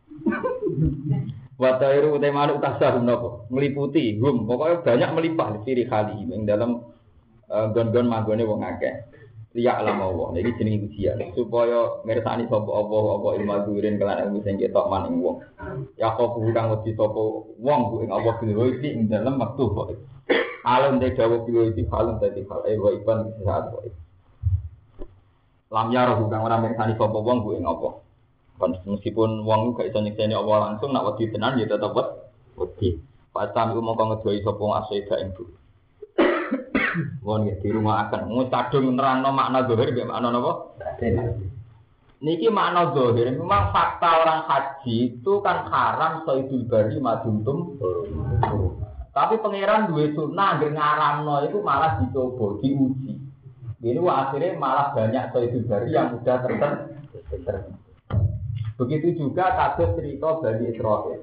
Watairu utamane utasahum napa? Meliputi, hum, pokoknya banyak melimpah ciri kali ing dalam gon-gon magone wong akeh. Liya alam Allah, ini jenenge ujian supaya mirsani sapa Allah apa ilmu durin kelan ilmu sing ketok maning wong. Ya kok kang wedi sapa wong ku ing Allah kuwi iki ing dalem wektu kok. Alam de dawuh kuwi iki falun dadi fal e wa iban saat kok. Lam ya roh kang ora mirsani sapa wong ku ing apa. Kon meskipun wong gak iso nyekseni Allah langsung nak wedi tenan ya tetep wedi. Pasam iku mongko ngedoi sapa asida ing bu. Wong di rumah akan ngus kadung nerangno makna zahir nggih makna napa? Niki makna zahir memang fakta orang haji itu kan haram saidul bari maduntum. Tapi pangeran duwe sunah nggih ngaramno iku malah dicoba diuji. Ini wah akhirnya malah banyak saidul bari yang sudah tertentu. Begitu juga kasus cerita Bani Israil.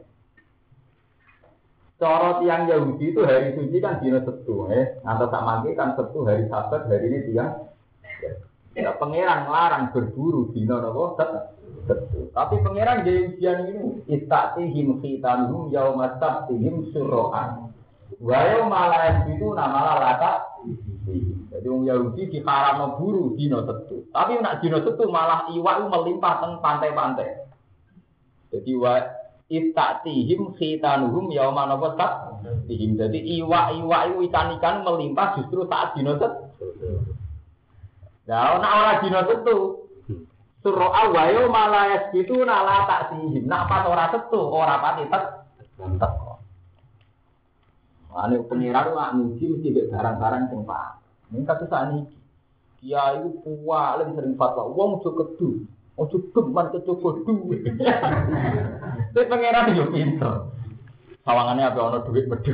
Cara tiang Yahudi itu hari suci kan dina Setu, eh, atau tak mangke kan Setu hari Sabat, hari ini tiang. Ya, pangeran larang berburu dina napa Setu. Tapi pangeran jadi ujian ini istatihim khitanuhum yauma sabtihim surroan. Wa yauma la yasbitu namala lata. Jadi wong Yahudi diharamno buru dina Setu. Tapi nek dina Setu malah iwak melimpah teng pantai-pantai. Jadi wa istatihim khitanuhum yauma napa sabtihim. Jadi iwak-iwak iku ikan-ikan melimpah justru saat dina Setu. Lah nek ora dina Setu surah awayo malayas gitu nala tak sihim. Nak pas ora Setu ora pati tek teko. Ane pengiran mak muji mesti mek barang-barang sing pak. Ning kados saniki. Kiai iku paling sering fatwa wong aja kedu. Aja geman kecoba duwe. Sing pengiran yo pinter. Sawangane ape ana dhuwit medhe.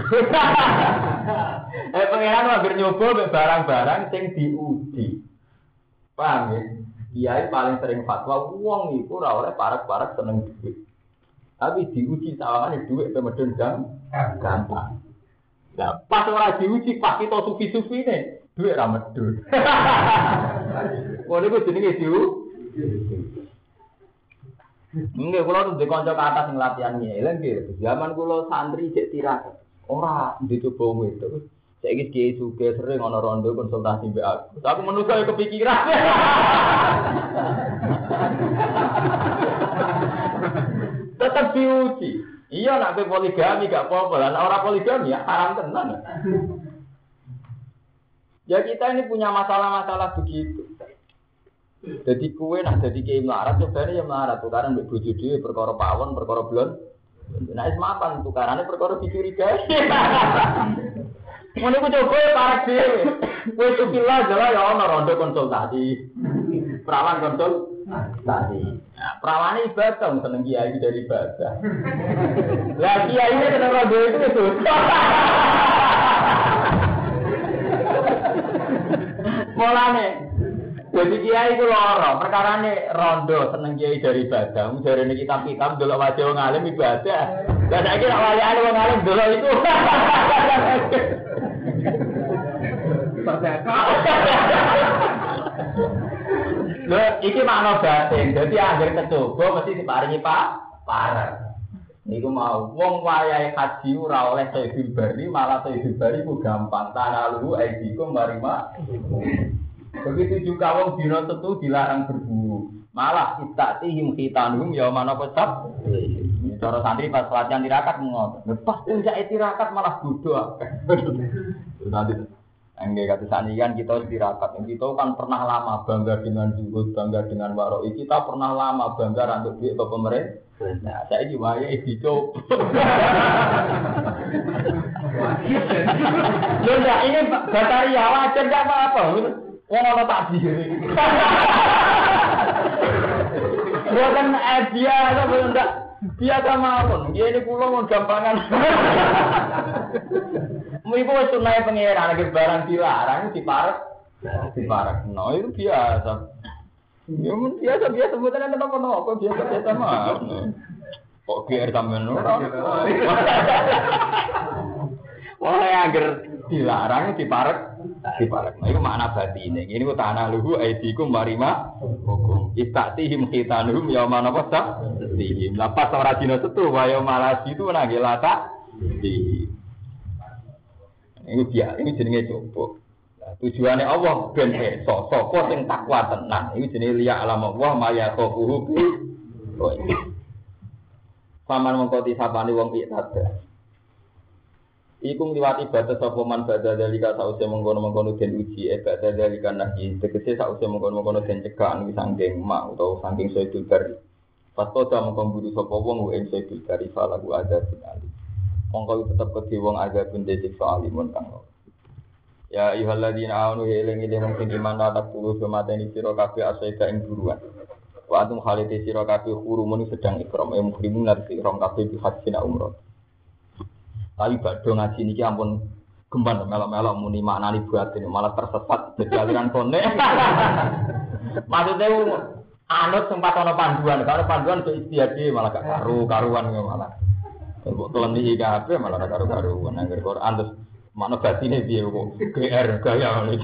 Eh pengiran mager nyoba mek barang-barang sing diuji. Paham ya? Kiai paling sering fatwa wong iku ora oleh parek-parek seneng dhuwit. Tapi diuji sawangane dhuwit pemedhen gampang. Lah pas ora diuji pas kita sufi-sufine dhuwit ra medhun. Wong iku jenenge diuji. Nggih kula tuh kanca kata sing latihan ngeleng nggih. Zaman kula santri cek tirakat. Ora dicoba wedok. Saiki kiai suge sering ana rondo konsultasi mbek aku. Aku menungso ya kepikiran. Tetap diuji. Iya nak ke poligami gak apa-apa. Lah ora poligami ya haram tenan. Ya kita ini punya masalah-masalah begitu. Jadi kue nak jadi kiai melarat sebenarnya ya melarat tukaran mbek bojo dhewe perkara pawon, perkara blon. Nek wis mapan tukarane perkara dicurigai. Ngono ku coba parek dhewe. Wis tukilah jala ya ana rondo konsultasi. Perawan konsultasi. Nah, perawane ibadah seneng kiai dari ibadah. Lah kiai ini seneng rondo itu dosa. Mulane jadi kiai ku loro, perkarane rondo seneng kiai dari ibadah. Mung jarene kitab-kitab delok wajah wong alim ibadah. Lah saiki nek wali wong alim delok itu. Lho, iki makna batin. Dadi anggere kecoba mesti diparingi Pak parek. Niku mau wong wayahe haji ora oleh sayyidul bari, malah sayyidul bari ku gampang. Tanalu aidikum marima. Begitu juga wong dina Setu dilarang berburu. Malah istatihim khitanuhum yauma nafsab. Cara santri pas latihan tirakat ngono. Lepas puncak tirakat malah bodoh. Nanti enggak kata sani kan kita tirakat. Kita kan pernah lama bangga dengan zuhud, bangga dengan waroi. Kita pernah lama bangga rantuk duit ke pemerintah. Nah, saya diwaya dicoba. Loh ya ini bataria wajar enggak apa-apa. Wong ana takdir. Bukan dia atau enggak Biasa mawon, dia ini pulau mau gampangan. Ibu wis sunai pangeran lagi barang dilarang diparek, diparek. No itu biasa. Ya mun biasa biasa sebutan ada apa-apa biasa biasa mah. Kok G R sampean ora. Wah agar dilarang diparek, diparek. Nah, itu makna batine. Ini ku tanah luhu aidikum marima hukum. Istatihim khitanuhum yauma nafasa. Tihim. Lapas ora dina setu wayo malas itu nang gelata. Ini dia, ini jenenge coba. Nah, tujuannya Allah ben iso sapa sing takwa tenan. Iki jenenge liya alam Allah maya qafuhu bi. Paman mengko disapani wong iktada. Iku ngliwati batas sapa man badha dalika sause mengkono-mengkono den uji e badha dalika nahi tegese sause mengkono-mengkono den cegah ing saking mak utawa saking saidul bari. Pastoda mengko mburu sapa wong ing saidul bari falahu adzabun ali. Mongko tetep kedhe wong adzabun disiksa alimun kang. Ya ayyuhalladzina amanu eling-eling wong sing iman ta kulo semateni sira kabeh asaida ing buruan. Wa antum khalite sira kabeh hurumun sedang ikram e muhrimun lan ikram kabeh bi hajjin umrah. Tapi badhe ngaji niki ampun gemban melok-melok muni maknani buatin malah tersesat jadi aliran kone. Maksudnya anut sempat ana panduan, kalau panduan itu istiadat malah gak karu-karuan malah. Kok teleni kabeh malah gak karu-karuan nang Quran terus makna batine piye kok G R gaya ngene.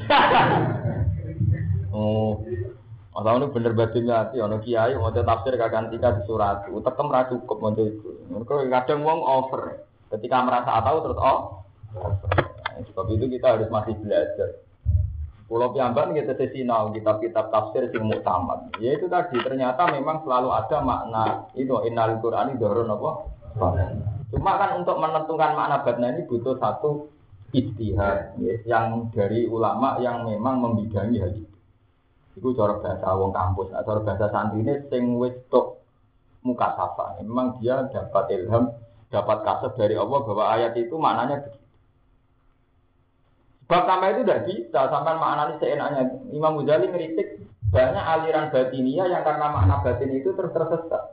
Oh. Asal bener batinnya ati ana kiai maca tafsir kagantika di surat, utekem ra cukup maca iku. Mergo kadang wong over. Ketika merasa tahu terus oh, nah, sebab itu kita harus masih belajar. Pulau Piamban kita sesinau kitab-kitab tafsir yang muktamad. Ya itu tadi ternyata memang selalu ada makna itu innal Qur'ani dhurun apa? Cuma kan untuk menentukan makna batna ini butuh satu ijtihad ya, yang dari ulama yang memang membidangi hal itu. Itu cara bahasa wong kampus, nah, cara bahasa santrine sing wis tok mukasafa. Memang dia dapat ilham dapat kasih dari Allah bahwa ayat itu maknanya begitu. Sebab sampai itu tidak bisa, sampai maknanya seenaknya. Imam Ghazali ngeritik banyak aliran batinia yang karena makna batin itu terus tersesat.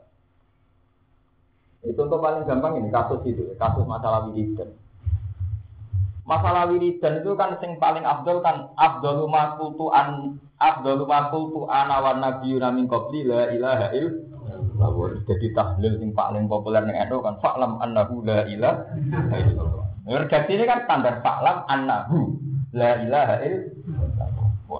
Itu untuk paling gampang ini, kasus itu, kasus masalah wiridan. Masalah wiridan itu kan yang paling afdol kan, afdolu makultu an, afdolu makultu ana wa nabiyuna min qabli la ilaha illallah. Lawur jadi tahlil yang paling populer ning N U kan fa'lam annahu la ilaha illallah. Redaksi ini kan standar fa'lam annahu la ilaha illallah.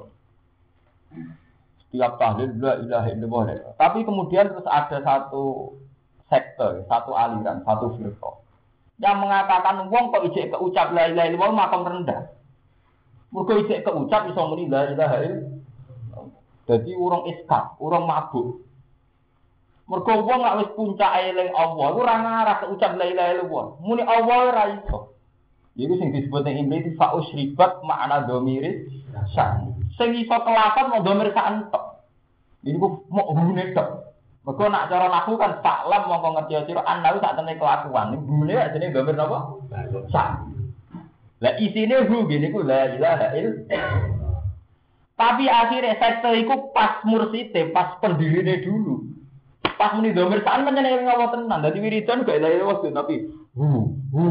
Setiap tahlil la ilaha illallah. Tapi kemudian terus ada satu sektor, satu aliran, satu firqah yang mengatakan wong kok ijek keucap la ilaha illallah makam rendah. Mergo ijek keucap iso muni la ilaha illallah. Dadi urung iskak, urung mabuk. Mergo wong lak wis puncake eling Allah, ora ngarah keucap la ilaha illallah. Muni Allah ora iso. Iku sing disebut ing Ibnu fa usribat makna dhamiri sa'an. Sing iso kelapan mau dhamir sa'an tok. Iku mau hubungane tok. Mergo nak cara nahwu kan faklam mongko ngerti sira ana sak temene kelakuan. Hubungane jenenge dhamir napa? Sa'an. Lah isine hu ngene iku la ilaha illallah. Tapi akhirnya sekte iku pas mursite, pas pendirine dulu. Pas muni domir saan menyenengi Allah tenan. Dadi wiridan gak ilahi waktu tapi hu hu.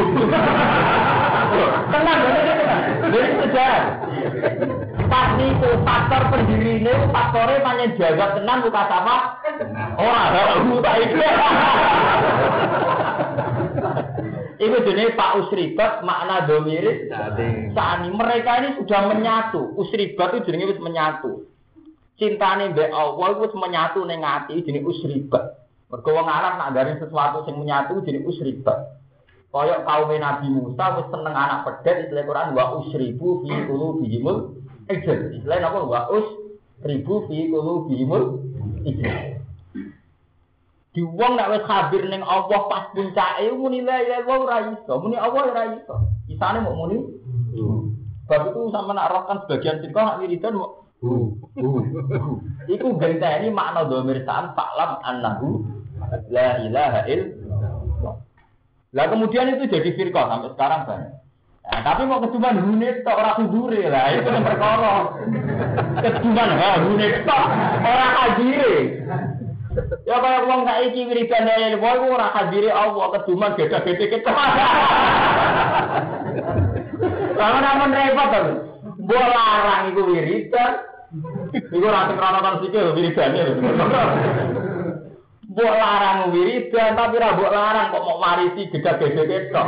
Tenang tenan. Jadi sejarah. Pas niku faktor pendirine faktore panjen jaga tenan buka sama ora hu ta iki. Iku jenenge Pak Usribat makna domir sani. Mereka ini sudah menyatu. Usribat itu jenenge wis menyatu. Cintane mbek Allah wis menyatu ning ati jenenge usribat. Mergo wong Arab nak ndare sesuatu sing menyatu jenenge usribat. Kaya kaum Nabi Musa wis seneng anak pedet istilah Quran wa usribu fi qulubihimul ijl. Istilah napa wa usribu fi qulubihimul ijl. Di wong nek wis khabir ning Allah pas puncake muni la ilaha illallah ora iso, muni Allah ora iso. Isane mok muni. Bab itu sampe nak rohkan sebagian sirka nak wiridan mok Uh, uh, uh. Iku genteni makna dhamir sa'an fa'lam annahu la ilaha illallah. Lah kemudian itu jadi firqah sampai sekarang banyak. Nah, tapi mau keduman hune tok ora kudure lah itu yang perkara. Keduman ha hune tok ora hadire. Ya kaya wong saiki wiridan lele wae ora hadire Allah keduman beda-beda kita. Lah namun repot to. Mbok larang iku wiridan. Iku ora krana kan sikil wiridane. Mbok larang wiridan tapi ora mbok larang kok mau marisi beda-beda kita.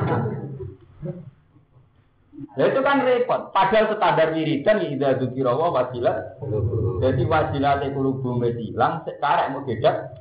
Nah itu kan repot. Padahal standar wiridan ya idza dzikra wa wasilah. Jadi wasilah te kulubu hilang sekarang mau beda.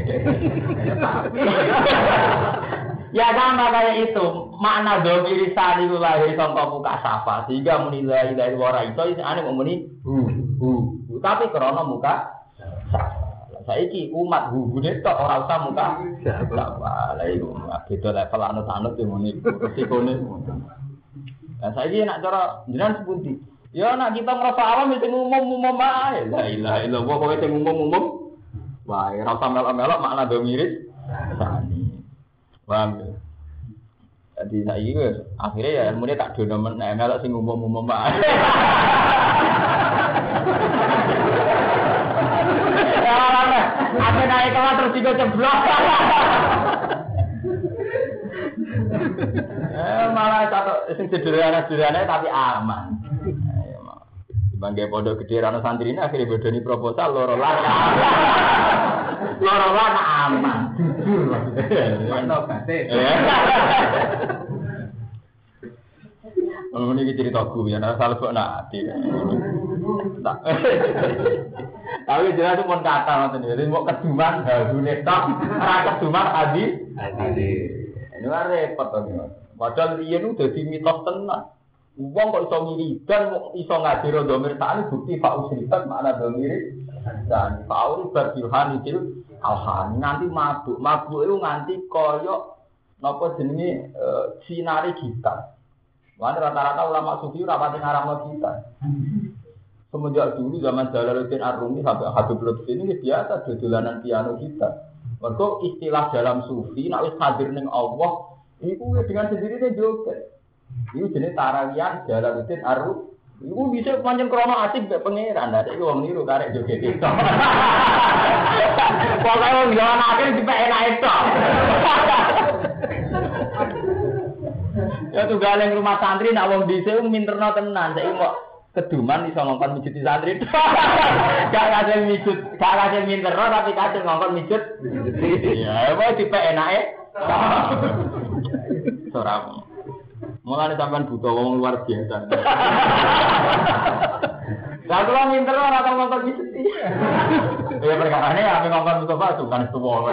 Ya sama kayak itu. Makna dhamir lisan itu lahir sangka muka safa sehingga muni la ilaha illallah iso isane mau muni hu hu. Tapi krana muka safa. Saiki umat hu-hune tok ora usah muka safa. Lah iku beda level anut-anut yo muni resikone. Lah saiki nek cara jenengan sepundi? Ya nek kita ngrasa awam sing umum-umum ae. La ilaha illallah kok sing umum-umum. Wae ora usah melok-melok makna dhamir sani. Paham. Jadi saiki wis akhire ya ilmune tak dono men melok sing umum-umum ae. Apa naik kelas terus juga ceblok. Eh malah satu sing sederhana-sederhana tapi aman. Ayo mau. Dibangge pondok gede rano santri ini akhirnya bodoni proposal loro lan. Loro lan aman. Mantap batik. Oh ini cerita gue ya, nara salah kok nanti. Tapi jelas itu pun kata macam ini, mau keduman, halunya tak, rasa keduman adi, adi. Ini kan repot tuh nih. Padahal dia itu jadi mitos tenang. Uang kok iso wiridan, iso ngaji dhamir tani bukti fa'u sribat makna dhamir dan fa'u berbilhan itu alhan. Nanti mabuk, mabuk itu nganti koyok napa jenenge sinari gitar. Wah rata-rata ulama sufi rapati ngaramno kita. Semenjak dulu zaman Jalaluddin Ar-Rumi sampai Habib Lutfi ini biasa dolanan piano kita. Mergo istilah dalam sufi nek wis hadir ning Allah, iku dengan sendirinya joget. Iku jenenge tarawiyan Jalaluddin Ar-Rumi. Iku bisa pancen krono asik mek pangeran. Lah iki wong niru karek joget itu. Pokoke wong yo anake dipek enake tok. Ya tuh galeng rumah santri nak wong dhisik minterno tenan saiki kok keduman iso ngongkon mijut santri. Gak kadang mijut, gak kadang minterno tapi kadang ngongkon mijut. Ya wae dipek enake. Ora. Mulane sampean butuh wong luar biasa. Lah kula minterno ora tau ngongkon mijut. Ya perkarane ape ngongkon Mustafa bukan tuwa.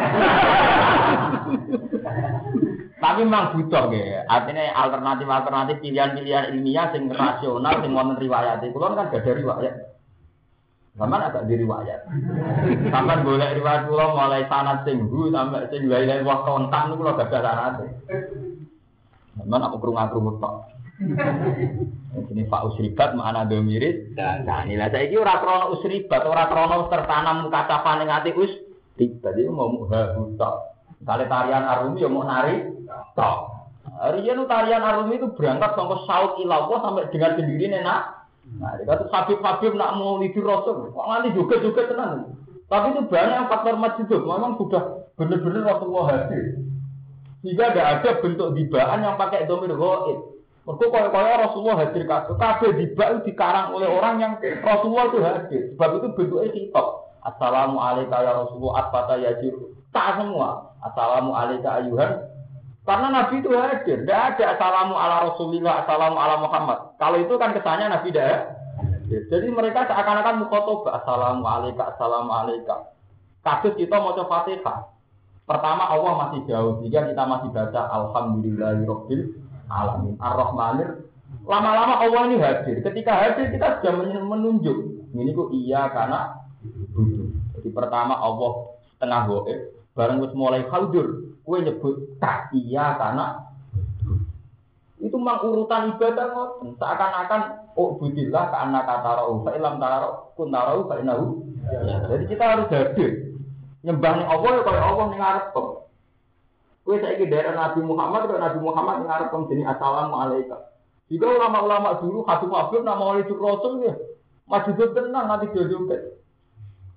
Tapi memang butuh ya. Artinya alternatif-alternatif pilihan-pilihan ilmiah sing rasional sing wonten riwayat. Kulo kan gak ada riwayat. Sampeyan agak di riwayat. Sampeyan golek riwayat kulo mulai sanad sing hu sampai sing lain-lain wah kontak niku kulo gak ada sanad. Sampeyan aku krungu-krungu tok. Ini Pak Usribat makna domirit. Nah, nilai saiki ora krana usribat, ora krana tertanam kacapan ning ati us. Dadi ngomong ha tok. Kali tarian Ar-Rumi ya mau nari tok. Riyen tarian Ar-Rumi itu berangkat saka saut ilawah sampai dengan sendiri nak. Nah, itu Habib-habib nak mau lidur Rasul, kok nganti juga-juga tenan. Tapi itu banyak faktor majidud, memang sudah benar-benar Rasulullah hadir. Sehingga tidak ada bentuk dibaan yang pakai dhamir ghaib. Mergo kaya-kaya Rasulullah hadir kabeh. Kabeh dibak itu dikarang oleh orang yang Rasulullah itu hadir. Sebab itu bentuknya khitab. Assalamu alayka ya Rasulullah atfata yajir. Tak semua. Assalamu alayka ayuhan. Karena Nabi itu hadir. Tidak ada assalamu ala Rasulillah, assalamu ala Muhammad. Kalau itu kan kesannya Nabi tidak hadir. Jadi mereka seakan-akan mukhotoba. Assalamu alayka, assalamu alayka. Kasus kita mau coba Fatihah. Pertama Allah masih jauh. Jika kita masih baca Alhamdulillahirabbil alamin. Ar-Rahmanir. Lama-lama Allah ini hadir. Ketika hadir kita sudah menunjuk. Ini kok iya karena jadi pertama Allah setengah goib. Barang wis mulai khaldur, kowe nyebut tak iya karena itu mang urutan ibadah ngoten. Seakan-akan oh budillah ka annaka tarau fa ilam tarau kun tarau fa innahu. Jadi kita harus hadir. Nyembah ning Allah kaya Allah ning ngarep. Kowe saiki daerah Nabi Muhammad kaya Nabi Muhammad ning ngarep jenenge assalamu alayka. Jika ulama-ulama dulu Habib-habib nama wali Rasul ya. Masjid tenang nanti jodoh.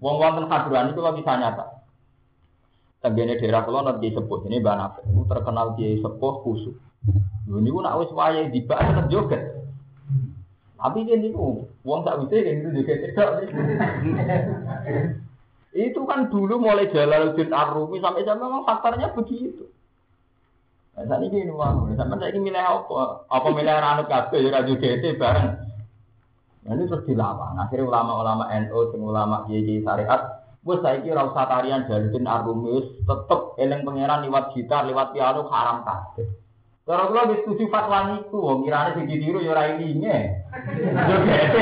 Wong wonten Hadroan itu bisa nyata. Tenggene daerah kula nanti sepuh ini Mbah Nafis terkenal kiai sepuh kusuk. Lho niku nak wis wayahe dibak tetep joget. Tapi dia niku wong sak wise kan itu joget tidak. Itu kan dulu mulai Jalaluddin Ar-Rumi sampai sampai memang faktornya begitu. Nah, saat ini ini mau, sampai saya ini milih apa? Apa milih anak kabeh ya radio G T bareng. Nah, ini terus dilawan. Akhirnya ulama-ulama N U, ulama Kiai Syariat, wes saiki ora usah tarian Jalaluddin Ar-Rumi, tetep eling pangeran liwat gitar, liwat piano haram kabeh. Cara kula wis setuju fatwa niku, wong kirane sing ditiru ya ora ilinge. Joget.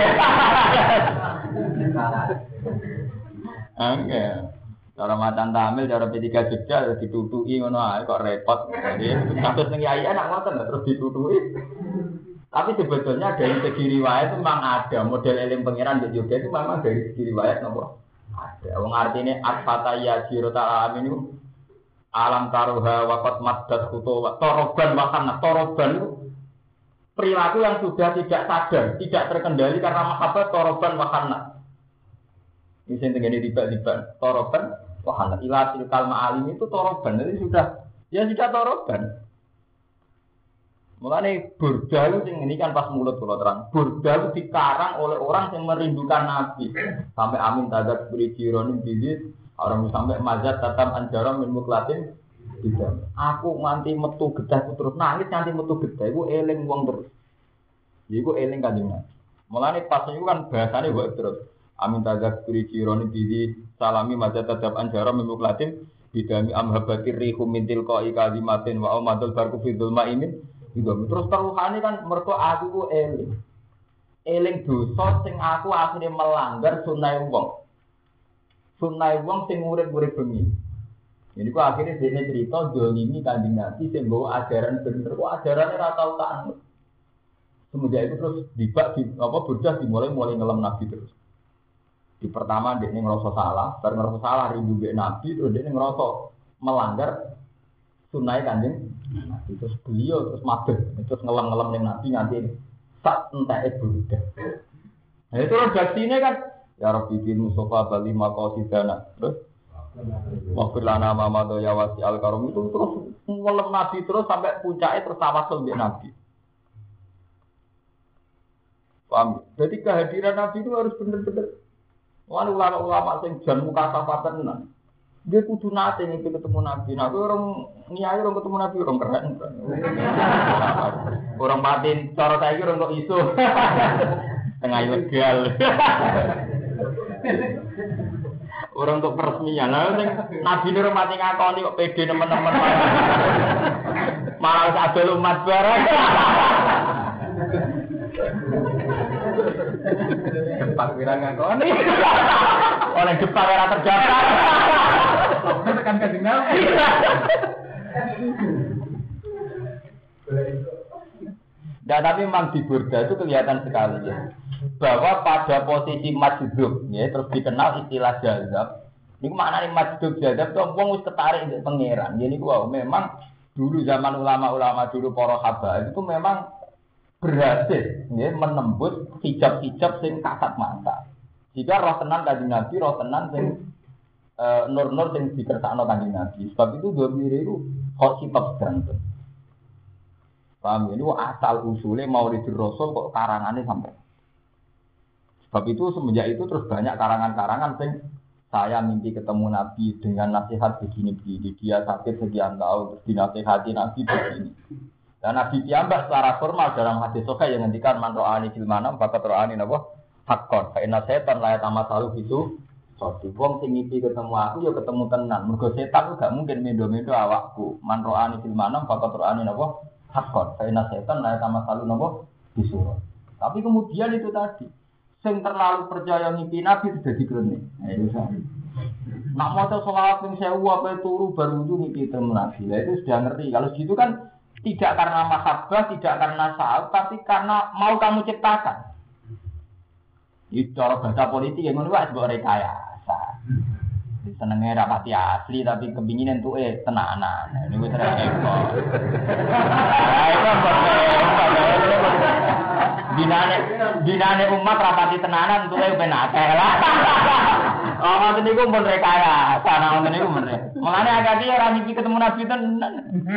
Oke, cara matan tamil, cara P tiga Jogja ditutuki ngono ae kok repot. Jadi kasus ning yai enak ngoten terus ditutuki. Tapi sebetulnya dari segi riwayat itu memang ada model eling pangeran di Jogja itu memang dari segi riwayat nopo ada. Wong artine at-fata ya jirota alam ini alam taruha waqat maddat khutu toroban makan toroban itu perilaku yang sudah tidak sadar, tidak terkendali karena mahabbah toroban makan. Ini yang terjadi tiba-tiba toroban, wahana ilatil kalma alim itu toroban, jadi sudah, ya sudah toroban. Mulanya burda itu ini kan pas mulut kalau terang, burda itu dikarang oleh orang yang merindukan Nabi. Sampai amin tadat beri jironim bidit, orang sampai mazat tatam anjaram min muklatin. Tidak. Aku nganti metu gedah terus nangis nganti metu gedah, itu eling wong terus. Itu eling kanjeng Nabi. Mulanya pas itu kan bahasanya buat terus. Amin tazak beri jironi bidi salami mazat tadab anjara memuklatin bidami amhabatir rihum mintil koi kalimatin wa omadul barku fidul ma'imin gitu. Terus teruhani kan mereka aku ku eling eling dosa sing aku akhirnya melanggar sunai wong sunai wong sing urip-urip bengi. Jadi ku akhirnya dia cerita dolimi kanjeng Nabi sing bawa ajaran bener kok ajarannya ora tau tak anut. Semenjak itu terus dibak di apa bocah dimulai mulai ngelem Nabi terus. Di pertama dia ngerasa salah, baru ngerasa salah rindu be Nabi, terus dia ngerasa melanggar sunai kanjeng Nabi. Terus beliau terus mabeh, terus ngelem-ngelem dengan Nabi nanti sak entah itu budak. Nah itu redaksinya kan, ya Rabbi bin Mustafa Bali Makosidana, terus wakil lana mamado ya wasi al karom itu terus ngelem Nabi terus sampai puncaknya terus tawasul be Nabi. Paham? Jadi kehadiran Nabi itu harus benar-benar. Wah, ulama-ulama sing jan muka safatan tenan. Dia kudu nate ngiki ketemu Nabi. Nah, orang niai orang ketemu Nabi orang keren. Orang batin cara saiki orang kok iso. Tengah ilegal. Orang untuk peresmian. Lah sing Nabi nur mati ngakoni kok pede teman-teman. Malah sadol umat barang. Depak wirang ngakoni. Oleh depak ora terjata. Tekan kanjeng Nabi. Nah, tapi memang di Burda itu kelihatan sekali ya. Bahwa pada posisi majdub ya terus dikenal istilah jazab. Niku maknane majdub jazab itu wong wis ketarik untuk pangeran. Jadi wow, memang dulu zaman ulama-ulama dulu para habaib itu memang berhasil ya, menembus hijab-hijab sing kasat mata. Jika roh tenan kanjeng Nabi, roh tenan sing e, nur-nur sing dikersakno kanjeng Nabi. Sebab itu dua mire itu hot sifat jantung. Paham ini asal usulnya Maulidur Rasul kok karangannya sampai. Sebab itu semenjak itu terus banyak karangan-karangan sing saya mimpi ketemu Nabi dengan nasihat begini-begini. Dia sakit sekian tahun terus dinasihati Nabi begini. Dan Nabi piyambak secara formal dalam hadis sahih yang ngendikan man ro'ani fil manam bakat ro'ani napa hakon. Fa inna setan la yatamasalu itu satu wong sing ngipi ketemu aku ya ketemu tenan. Mergo setan gak mungkin mendo-mendo awakku. Man ro'ani fil manam bakat ro'ani napa hakon. Fa inna setan la yatamasalu napa disuruh. Tapi kemudian itu tadi sing terlalu percaya ngipi Nabi sudah dikrene. Nah itu sama. Nak maca selawat ping sewu apa turu baru itu ngipi ketemu Nabi. Lah itu sudah ngerti. Kalau gitu kan tidak karena mahabbah, tidak karena sa'ab, tapi karena mau kamu ciptakan. Itu cara bahasa politik yang menurut sebuah rekayasa. Senengnya rapati asli, tapi kepingin itu eh tenanan. Ini gue sering ekor. Binane, binane umat rapati tenanan, itu eh penakeh lah.
Oh, ngoten niku pun rekaya. Sana ngoten niku men. Mulane agak iki ora ngimpi ketemu Nabi tenan.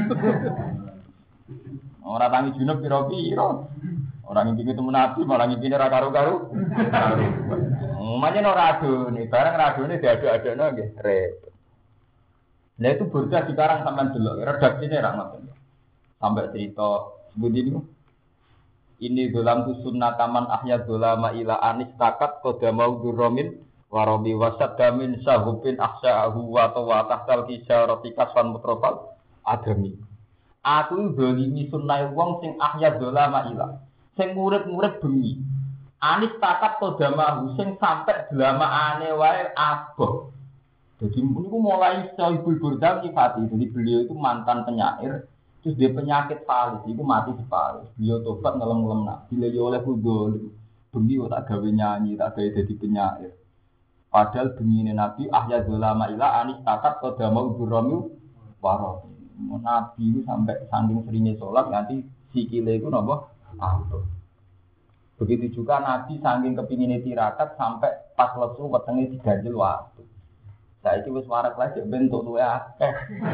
Ora tangi junub pira-pira. Ora ngimpi ketemu Nabi malah ngimpine ra karo-karo. Umane ora adone, barang radone diadu-adukno nggih repot. Lah itu burda dikarang sampean delok, redaksine ra ngoten. Sampai cerita sebuti niku. Ini dalam sunnah taman ahya dolama ila anis takat kodamau durromin warobi wasad damin sahubin aksa'ahu wa tawa tahtal kisah rotikas fan mutrofal adami. Aku dolimi sunnah wong sing ahya dolama ila sing urip-urip bengi. Anis takat kodamau sing sampai delama ane wae aboh. Jadi niku mulai Sahibul Burda nyifati. Jadi beliau itu mantan penyair. Terus dia penyakit falis, itu mati separuh. Beliau tobat ngelem-ngelem nak. Bila dia oleh kudul, bengi tak gawe nyanyi, tak gawe jadi penyair. Padahal bengi ini Nabi ahya dolama ila anis takat kodamau durromi waroh. Nabi itu sampai saking seringnya sholat nanti sikile itu nopo ampuh. Begitu juga Nabi saking kepingin tirakat sampai pas lesu wetenge diganjel waktu. Saya itu wis warak lagi bentuk luwe akeh.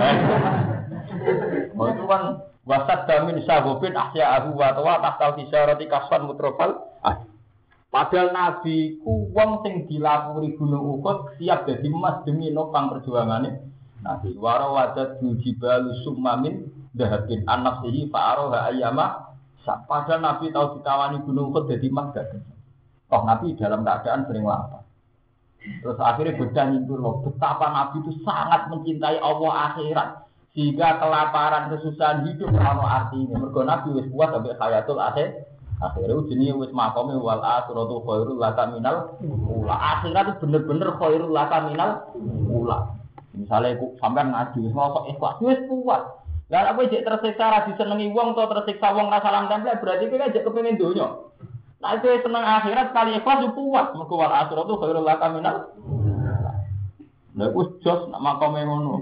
Oh itu kan wasad damin sahobin ahya ahu wa tawa tahtal kisarati kaswan mutrofal. Padahal Nabi ku wong sing dilapuri gunung Uhud siap dadi emas demi nopang perjuangane. Nabi waro wadat jibal summamin dahabin an-nafsihi fa'aroha ayyama. Padahal Nabi tahu ditawani gunung Uhud dadi emas gak. Toh Nabi dalam keadaan sering lapar. Terus akhirnya beda nyintur loh, betapa Nabi itu sangat mencintai Allah akhirat sehingga kelaparan kesusahan hidup kalau artinya. Mergo Nabi wis kuat sampai hayatul akhir. Akhirnya jenenge wis makome wal akhiratu khairul laka minal ula. Akhirat itu bener-bener khairul laka minal ula. Misalnya sampean ngaji wis mosok ikhlas wis kuat. Lah apa jek tersiksa ra disenengi wong utawa tersiksa wong ra salam tempel berarti kowe jek kepengin donya. Nah itu senang akhirat sekali ikhlas itu kuat. Mereka wal akhirat itu khairul laka minal. Lah wis jos nak makome ngono.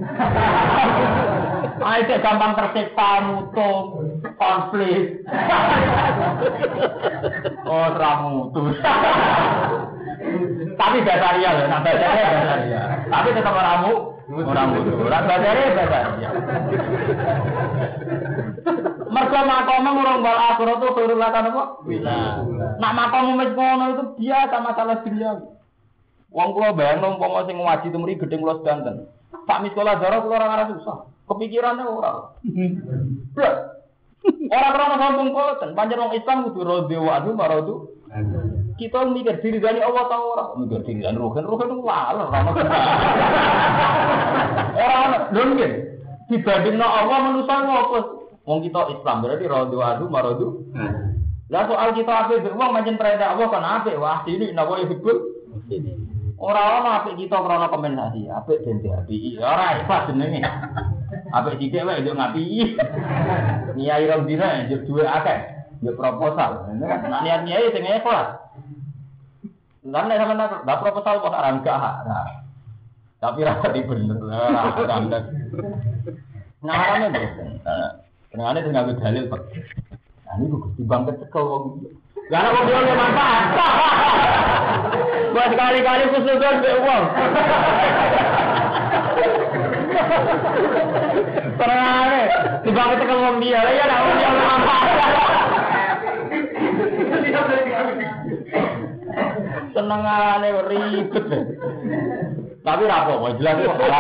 Ayo gampang tersiksa mutung, konflik. Oh, ramutu. Tapi basaria lho, nak basaria basaria. Tapi tetap ramu, orang mutu. Ora basaria basaria. Mergo makome urung wal akhirat itu khairul laka napa? Nak makom wis ngono itu biasa masalah dunia. Wong kula bayang umpama sing ngaji temri gedeng kula sedanten. Sak sekolah darah kula ora ngarep susah. Kepikirannya ora. Blas. Ora krono sombong boten. Pancen wong Islam kudu rodhe wa adu maradu. Kita mikir diri dari Allah ta ora? Mikir diri dan rohen rohen itu laler ora ono. Ora ono lho nggih. Dibandingno Allah manusa ngopo? Wong kita Islam berarti rodhe wa adu maradu. Lah soal kita apik wong pancen perintah Allah kan apik wah ini napa ibul. Ora ana apik kita krana kompensasi, apik den diapiki. Ora ikhlas jenenge. Apik sithik wae yo ngapi. Niai rong dina yo duwe akeh. Yo proposal. Nek niat niai sing ikhlas. Lan nek sampeyan tak proposal kok ora enggak. Nah. Tapi ra di bener lah, kandak. Ngarane mboten. Tengane tinggal dalil Pak. Nah niku Gusti Bang kecekel wong. Lah kok yo manfaat. Buat kali-kali kusnudon be wong. Terane, tiba-tiba tekan wong dia, ya ora wong dia manfaat. Senengane ribet. Tapi ra apa, jelas kok salah.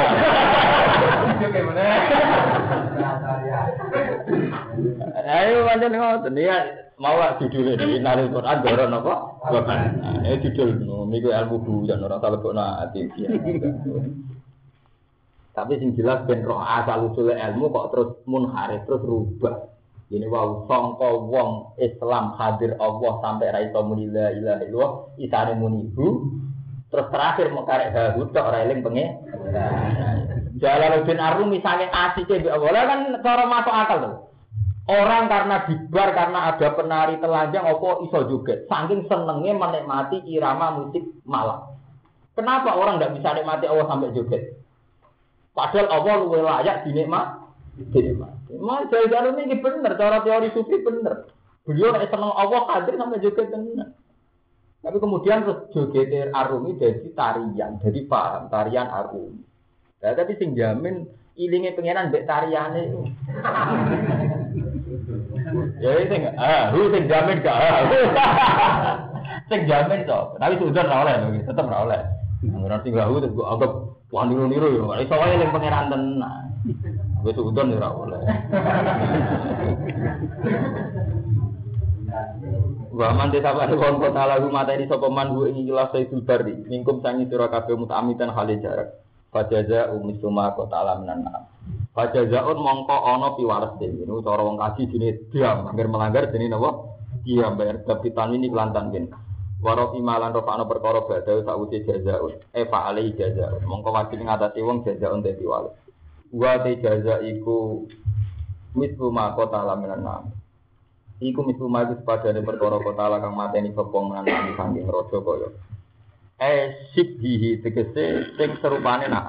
Ayo pancen ngoten ya. Mau lah judulnya di Inalil Quran Doron apa? Bahan. Ini judul niku ilmu bujan ora salah kok ati. Tapi sing jelas ben roh asal usul ilmu kok terus munharif terus rubah. Ini wau sangka wong Islam hadir Allah sampai ra iso muni la ilaha illallah isane muni bu. Terus terakhir mau karek halu tok ora eling penge. Jalaluddin Arumi saking asike mbek Allah kan cara masuk akal to. Orang karena dibar karena ada penari telanjang opo iso joget. Saking senengnya menikmati irama musik malam. Kenapa orang tidak bisa nikmati Allah sampai joget? Padahal Allah luwih layak dinikmati. Dinikmati. Mas Jaidar ini bener cara teori sufi bener. Beliau nek seneng Allah hadir sampai joget tenan. Tapi kemudian terus joget Arumi jadi tarian, jadi paham tarian Arumi. Nah, tapi sing jamin ilinge pengenan mbek tariane. Ya sing ah, hu sing jamin gak. Sing jamin to. Tapi sudah ora oleh lho, tetep ora oleh. Ora sing hu terus kok anggap wah niru-niru yo. Iso wae ning pengenan tenan. Wis udon ora oleh. Wa man desa wa kon kota lagu materi sapa man hu ing ikhlas Sayyidul Bari mingkum sangi sira kabeh mutamitan hale jarak fajaza umisuma kota alaminan fajazaun mongko ana piwales dene niku cara wong kaji jenenge diam angger melanggar jenenge napa diam bayar kapitan ini kelantan gen waro imalan rofa ana perkara badhe sakwise jazaun e fa alai jazaun mongko wajib ngatasi wong jazaun dadi piwales wa te jaza iku misuma kota alaminan iku misuma iku sepadane perkara kota ala kang mateni sopong menanani saking raja kaya eh sibhi tegese sing serupane nak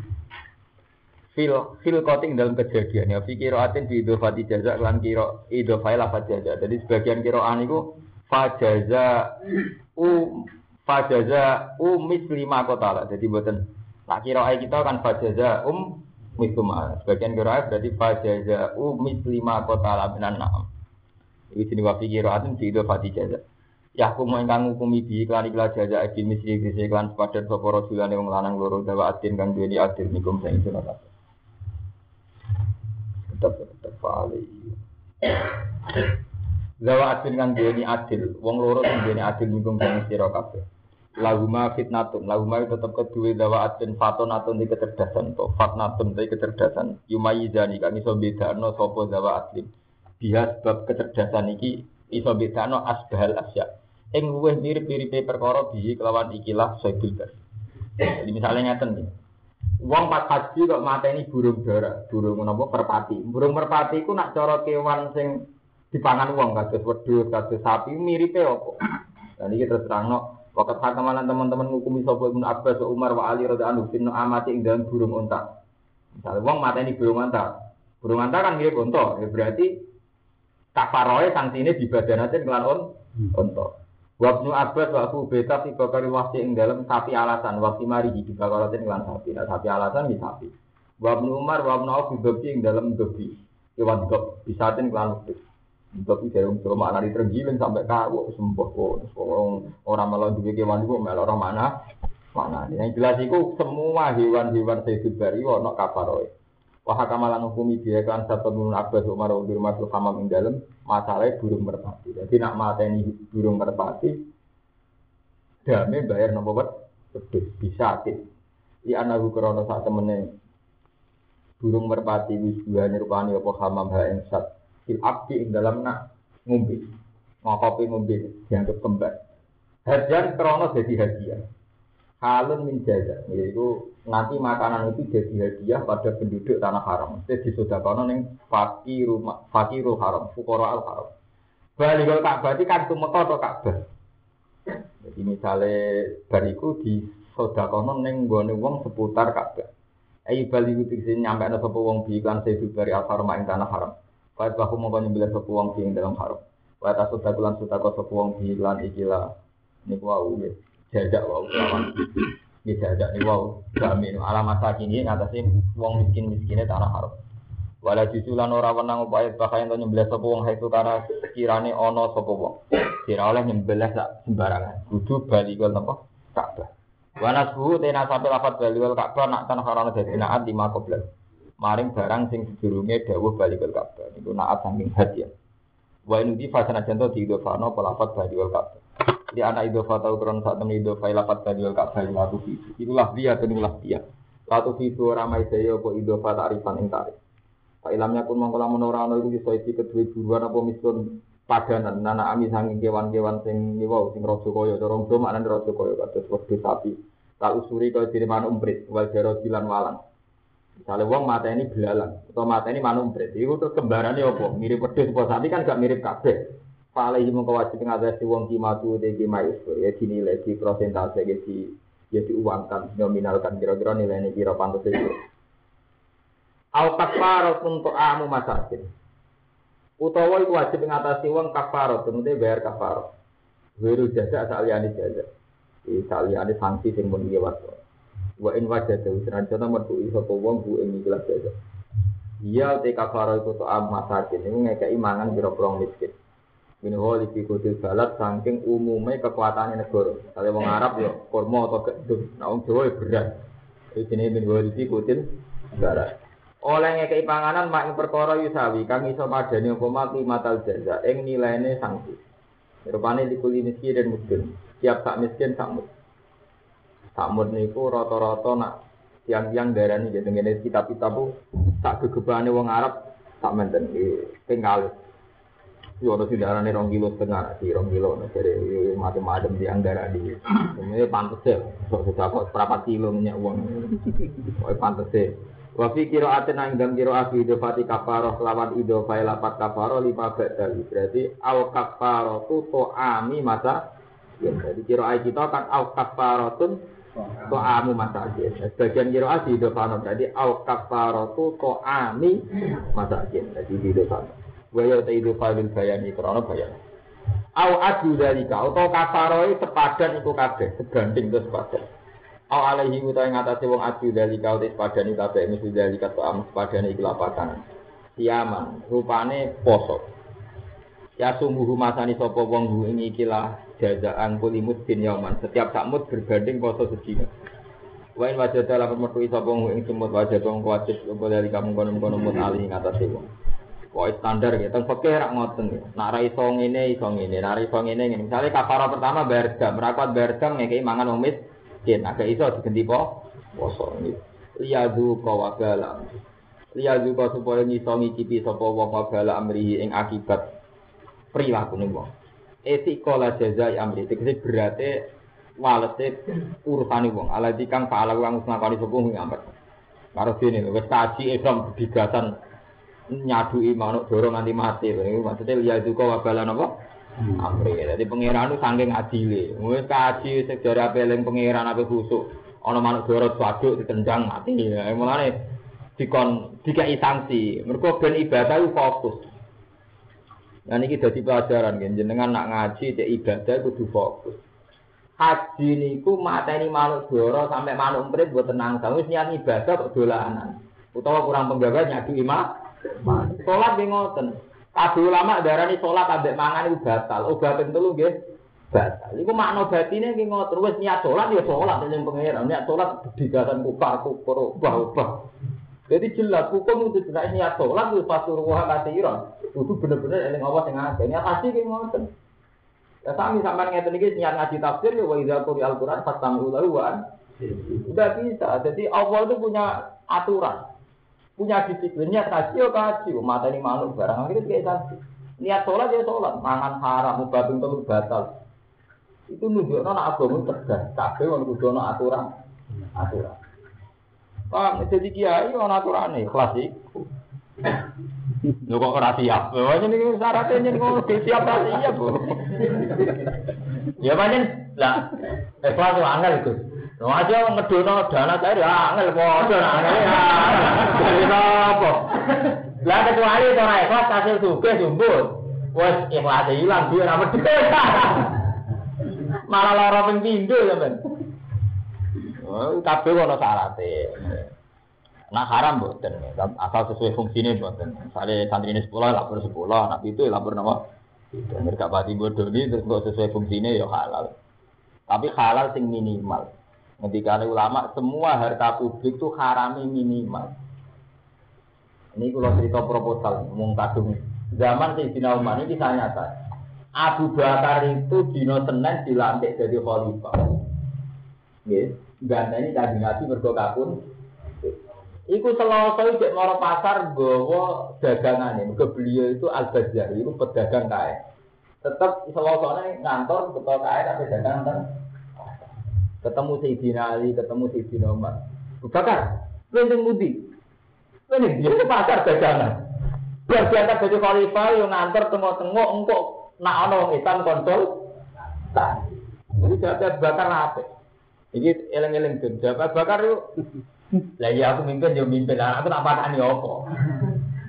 fil fil koting dalam kejadian ya fikir atin di idofati jaza lan kira idofai lafaz jaza jadi sebagian kiraan iku fajaza u fajaza u mislima kota ala jadi mboten tak kira kita kan fajaza um misuma sebagian kira berarti fajaza u mislima kota ala minan na'am iki jenenge wa fikiratin di idofati jaza ya hukum ingkang ngukumi bi iklan iklan jaza iki misri iki iklan sepadan sapa rajulane wong lanang loro dawa atin kang duweni adil nikum sing sunat tetep tetep fali dawa atin kang duweni adil wong loro sing duweni adil nikum sing sira kabeh lahuma fitnatun lahuma tetep keduwe dawa atin fatonatun di kecerdasan to fatnatun di kecerdasan yumayizani kang iso bedakno sapa dawa atin dia sebab kecerdasan iki iso bedakno asbahal asya ing luwih mirip-miripe perkara bihi kelawan ikilah Sayyidul Bari. Jadi misalnya ngeten iki. Wong pas haji kok mateni burung dara, burung napa merpati. Burung merpati iku nak cara kewan sing dipangan wong kados wedhus, kados sapi miripe apa? Lah niki terus terangno wakat hakamalan teman-teman ngukumi sapa Ibnu Abbas, Umar wa Ali radhiyallahu anhu amati ing dalam burung unta. Misale wong mateni burung unta. Burung unta kan mirip unta, ya berarti kafaroe santine dibadanaken kelan unta. Wabnu Abbas wa Abu Beta fi bakari wasi ing dalam sapi alasan wasi mari di bakaratin kelan sapi. Nah, sapi alasan di sapi. Wabnu Umar wa Abnu Auf dobi ing dalam dobi. Kewan dob bisatin kelan wedhus. Dobi dari umur makna ditergiling sampai kawo sembuh kok. Orang malah duwe kewan iku melok ora mana. Mana yang jelas iku semua hewan-hewan Sayyidul Bari ana kafaroe. Wa hakamalan hukumi dia kan satu Ibnu Abbas Umar bin Mas'ud hamam ing dalem masalah burung merpati. Jadi nak mateni burung merpati dame bayar napa wet wedhus bisa atit. Li anahu krana sak temene burung merpati wis duwane rupane apa hamam ha ing sat fil abdi ing dalem nak ngombe. Ngopi ngombe dianggap kembar. Hadiah krana dadi hadiah. Halun min jaza, yaitu nanti makanan itu jadi hadiah pada penduduk tanah haram. Jadi disodakono ning fakirul fakirul haram, fuqaraul haram. Balikul Ka'bah iki kan tumeka to Ka'bah. Jadi misale bariku disodakono ning nggone wong seputar Ka'bah. Ai baliku tegese nyampe ana sapa wong bi iklan Sayyidul Bari al-Haram ing tanah haram. Fa bahu mongko nyembelih sapa wong bi ing dalam haram. Wa ta sodakulan sodako sapa wong bi iklan ikilah niku wau nggih. Jajak wau lawan. Nggih jajak niku wau jamin alamat sakini ngatasi wong miskin-miskine tanah haram. Wala jusulan ora wenang upaya bakayan to nyembelih sapa wong haitu karena sekirane ana sapa wong. Kira oleh nyembelih sak sembarangan. Kudu balikul napa? Ka'bah. Wa nasbu tena sampe lafat balikul Ka'bah nak tanah haram dadi naat lima qoblan. Maring barang sing sedurunge dawuh balikul Ka'bah. Niku naat saking hadiah. Wa inudi fasana janto diidofano pelafat balikul Ka'bah. Di anak idofa tahu kurang saat temen idofa ilapat badiul Ka'bah latu fitu. Itulah dia tenulah dia. Latu fitu ramai saya po idofa ta'rifan ing tarif. Pak ilamnya pun mengkola menorano itu bisa isi kedua buruan apa misun padanan. Nana ami sanging kewan-kewan sing niwau sing rojo koyo. Dorong do maknanya rojo koyo kados wedhus sapi. Tak usuri kaya diri manu umprit. Wal jaro jilan walang. Misalnya wong mata ini belalang atau mata ini manu umprit. Itu tuh kembarannya apa? Mirip wedhus apa sapi kan gak mirip kabeh. Falehi mongko wajib ngatasi wong kimatu te kimais ya dinilai di persentase ya di ya diuangkan nominalkan kira-kira nilainya kira pantes itu. Au kafarat untuk amu masakin. Utawa iku wajib ngatasi wong kafarat, kemudian bayar kafarat.
Wiru jaza saliyane jaza. Iki saliyane sanksi sing mun liwat. Wa in wajada senajan metu sapa wong bu ing ikhlas jaza. Iya te kafaro iku to amasakin niku ngekeki mangan pira-pira miskin. Minho iki kudu balat saking umume kekuatane negara. Kale wong Arab ya kurma atau gedung, nek wong Jawa ya beras. Iki jenenge minho iki kutil balat. Oleh ngekeki panganan mak ing perkara yusawi kang iso madani apa mati matal jaza ing nilaine sanksi. Rupane dikuli miskin dan miskin. Tiap sak miskin sak mut. Sak mut niku rata-rata nak tiang-tiang darani ya ngene kitab-kitab ku sak gegebane wong Arab sak menten iki penggal. Yo ono sindarane rong kilo setengah, di rong kilo nek dari macam-macam tiang darani. Ini pantes ya. Sok kok berapa kilo minyak uang. Kok pantes ya. Wa fi qira'atin ing dalam qira'ah idofati kafarah lawan idofai lapat kafarah lima badal. Berarti al kafaratu ta'ami masa. Ya, jadi qira'ah kita kan al kafaratun ta'amu masakin. Sebagian qira'ah idofano jadi al kafaratu ta'ami masakin. Jadi idofano. Wa ya ta idofalil bayani krana bayan. Au adu dalika atau kafaroi sepadan iku kabeh, sebanding terus sepadan. Au alaihi utahe ngatasi wong adu dalika utis padani kabeh mesti dalika soam padane iki lapakan. Siaman rupane poso. Ya sungguh masani sapa wong ing iki lah jazaan kulimut din yauman. Setiap sakmut berbanding poso sedina. Wa in wajada lamun metu sapa wong ing semut wajada wong wajib apa dalika mung-mung mut ali ngatasi wong. Kok standar ya teng fikih rak ngoten. Nek ra iso ngene iso ngene, nek ra iso ngene ngene. Misale kafarah pertama bayar dam, rakot bayar dam ngekeki mangan wong mis jen agak iso digenti po poso iki liyadu kawabala liyadu ka supaya iso ngicipi sapa wong wabala amrihi ing akibat prilakune wong etikola jazai amri tegese berate walete urusane wong ala dikang paala wong ngakoni sapa wong amret karo dene wis kaji Islam bigasan nyaduki manuk dorong nganti mati iki maksudnya liyadu kawabala napa amri, jadi pangeran itu saking adile. Wis kaji sejarah peleng pangeran ape khusuk. Ana manuk dorot waduk ditendang mati. Mulane dikon dikai sanksi. Mergo ben ibadah itu fokus. Nah niki dadi pelajaran nggih jenengan nak ngaji cek ibadah kudu fokus. Haji niku mateni manuk dorot sampai manuk emprit mboten tenang. Wis niat ibadah kok dolanan. Utawa kurang penggawe nyadu imam. Salat nggih ngoten. Kabeh ulama darani salat ambek mangan iku batal. Obat telu nggih batal. Iku makna batine nggih ngoten. Wis niat salat ya salat ning pangeran. Niat salat digasan kufar kufur ubah-ubah. Jadi jelas hukum itu jelas niat salat wis pasuruh katiran. Kudu bener-bener eling Allah sing ngene. Niat pasti nggih ngoten. Ya sami sampean ngeten iki niat ngaji tafsir ya wa idza quri'al Qur'an fastamu lahu wa udah bisa. Jadi Allah itu punya aturan. Punya disiplin, niat kaji ya kaji, mata ini manuk barang, akhirnya kayak kaji. Niat sholat ya sholat, mangan haram, mubabing telur batal. Itu nunjuknya nak agama tegas, kabeh orang kudu ana aturan, aturan. Pak, jadi kiai ana aturane, kelas iku. Lho kok ora siap. Lho ini syaratnya yen kok siap ta siap, Bu. Ya pancen lah, ikhlas yo angel iku. Lho aja ngedono dana cair ya angel padha angel. Jadi apa? Lah kecuali ora ikhlas hasil sugih jumbut. Wes ikhlas ilang duwe ra medhit. Malah lara ping pindho ya, Men. Oh, kabeh ono syarate. Nah haram mboten, asal sesuai fungsine mboten. Misale santrine sepuluh lapor sepuluh, anak itu lapor napa? Dan mereka pati bodoh ini terus kok sesuai fungsinya ya halal. Tapi halal sing minimal. Ketika ulama semua harta publik itu harami minimal. Ini kalau cerita proposal ngomong kadung zaman Sayyidina Umar ini kisah nyata. Abu Bakar itu dino Senin dilantik jadi khalifah. Nggih, ganteni Kanjeng Nabi mergo kapun. Iku Selasa cek moro pasar nggawa dagangane. Mergo beliau itu Al-Bajjah, itu pedagang kae. Tetep Selasane ngantor betul kae tapi dagang ten. Ketemu Sayyidina Ali, ketemu Sayyidina Umar. Abu Bakar, kowe ning pundi? Kowe ning ndi pasar dagangan. Biar diangkat jadi khalifah yo ngantor tengok-tengok engko nak ana wong Islam kontrol. Tah. Jadi Abu Bakar apik. Iki eleng-eleng den. Abu Bakar yo lah ya aku mimpin yo mimpin lah aku tak patani apa.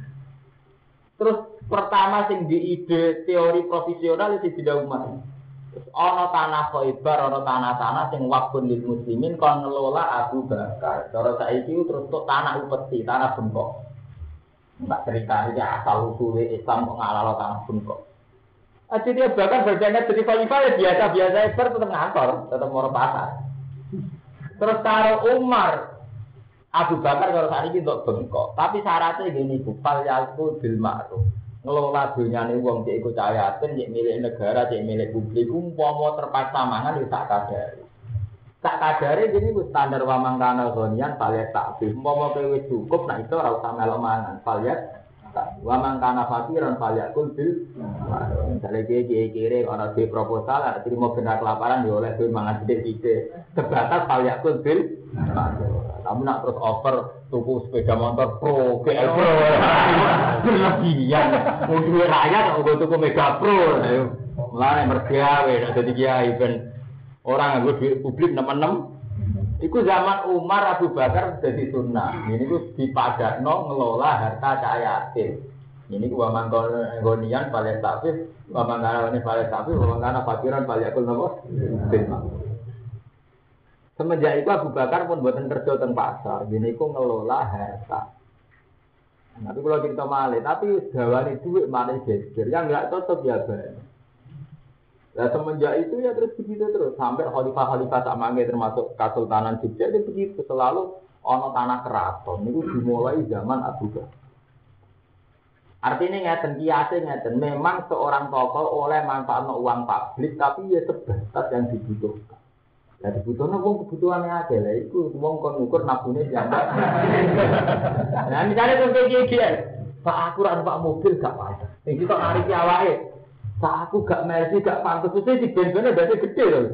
Terus pertama sing di ide teori profesional itu Sayyidina Umar.
Ana tanah Khaibar, ana tanah-tanah sing wakfun lil muslimin kon ngelola Abu Bakar. Cara saiki terus tok tanah upeti, tanah bengkok. Mbak cerita iki asal usule Islam kok ngalalo tanah bengkok. Aja dia Bakar berjaya jadi khalifah ya biasa-biasa Ibar tetap ngantor, tetap mau pasar. Terus karo Umar Abu Bakar kalau saat ini untuk bengkok, tapi syaratnya gini bu, fal yakul bil ma'ruf. Ngelola dunyane wong cek iku cahayaten, cek milik negara, cek milik publik, umpama terpaksa mangan wis tak kadare. Tak kadare gini ku standar wa mangkana gonian fal yak takfi. Umpama kowe wis cukup nek iso ora usah melo mangan, fal yak wa mangkana fakiran fal yakul bil ma'ruf. Misale iki kire ana di proposal, ada terima benar kelaparan yo oleh duit mangan sithik-sithik. Sebatas fal yakul bil ma'ruf. Kamu nak terus offer tuku sepeda motor Pro, G L Pro, berlebihan. Untuk rakyat, untuk tuku Mega Pro, mulai mergawe, ada tiga event orang yang duit publik enam-enam. Iku zaman Umar Abu Bakar jadi sunnah. Ini ku dipadakno ngelola harta cahayatin. Ini ku waman gonian paling tafis, waman kana ini paling tafis, waman kana fakiran paling akul nopo. Semenjak itu Abu Bakar pun buatan kerja teng pasar, gini ku ngelola harta. Tapi kalau kita malih, tapi gawani duit malih geger, yang nggak cocok ya ben. Nah semenjak itu ya terus begitu terus sampai khalifah-khalifah tak mangke termasuk Kesultanan Jogja itu begitu selalu ono tanah keraton. Itu dimulai zaman Abu Bakar. Artinya ngeten kiase ngeten, memang seorang tokoh oleh manfaatno uang publik tapi ya sebatas yang dibutuhkan. Nah, dibutuhkan wong kebutuhannya aja lah, itu wong kon ngukur nabune jambak. Nah, misalnya contoh iki Pak aku ra numpak mobil gak pantes. Sing kita ngariki awake. Pak aku gak mercy gak pantes, mesti di ben-bene dadi gede lho.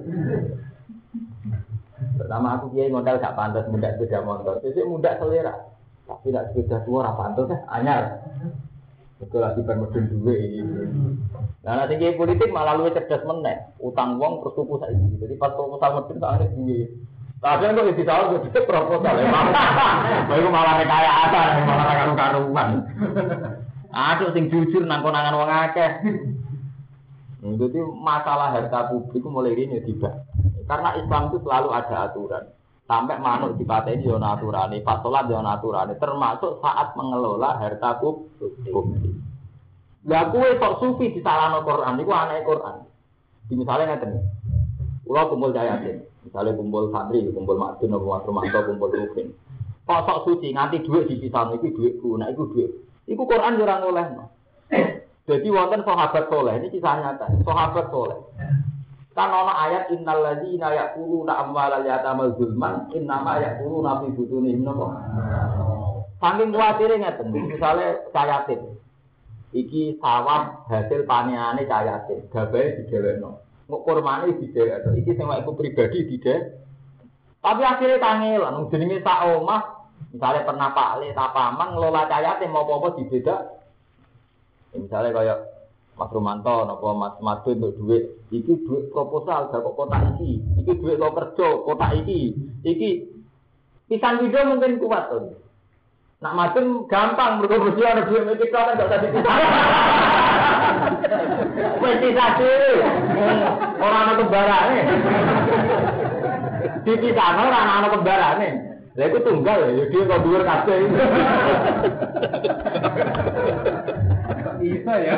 Pertama aku kiai modal gak pantes mundak sepeda motor. Sesuk mundak selera. Tapi nek sepeda tua ora pantes anyar. Betul lagi permedun duwe. Nah, nanti kiai politik malah luwih cerdas meneh. Utang wong terus tuku saiki. Jadi pas proposal medun tak ada duwe. Kadang kok bisa tahu kok proposal ya. Bae malah rekayasa, malah karu-karuan. Aduh sing jujur nang konangan wong akeh. Jadi masalah harta publik mulai ini tidak. Karena Islam itu selalu ada aturan. Sampai manuk dipateni yo ana aturane, pas salat yo ana aturane, termasuk saat mengelola harta publik. Lah kuwe kok sufi disalahno Quran niku anake Quran. Di misale ngeten. Kula kumpul jayatin, misale kumpul santri, kumpul madun apa mantu, kumpul rukun. Kok sok suci nganti dhuwit dipisahno iki dhuwitku, nek iku dhuwit. Iku Quran yo ora ngolehno. Jadi wonten sahabat saleh, ini kisah nyata, sahabat saleh. Kan ana ayat innal ladzina yaquluna amwalal yatama zulman innama yaquluna fi butunihim napa. Saking kuwatire ngeten, misale cayatin. Iki sawah hasil panenane cayatin, gabahe digewekno. Kok kurmane didewekno. Iki sing wae pribadi didhe. Tapi akhirnya kangelan jenenge sak omah, misale pernah Pak Le ta paman ngelola cayatin mau apa-apa dibedak. Misalnya kayak Mas Romanto, nopo Mas Madun untuk duit, iki duit proposal, gak kok kotak iki, iki duit lo kerja, kotak iki, iki pisan video mungkin kuat tuh. Nak Madun gampang, mereka bersih ada duit mereka kan gak usah dipisah. Mesti satu, orang anak kembarannya, dipisah orang anak kembarannya. Lah itu tunggal ya, dia kok dhuwur kabeh. Bisa ya.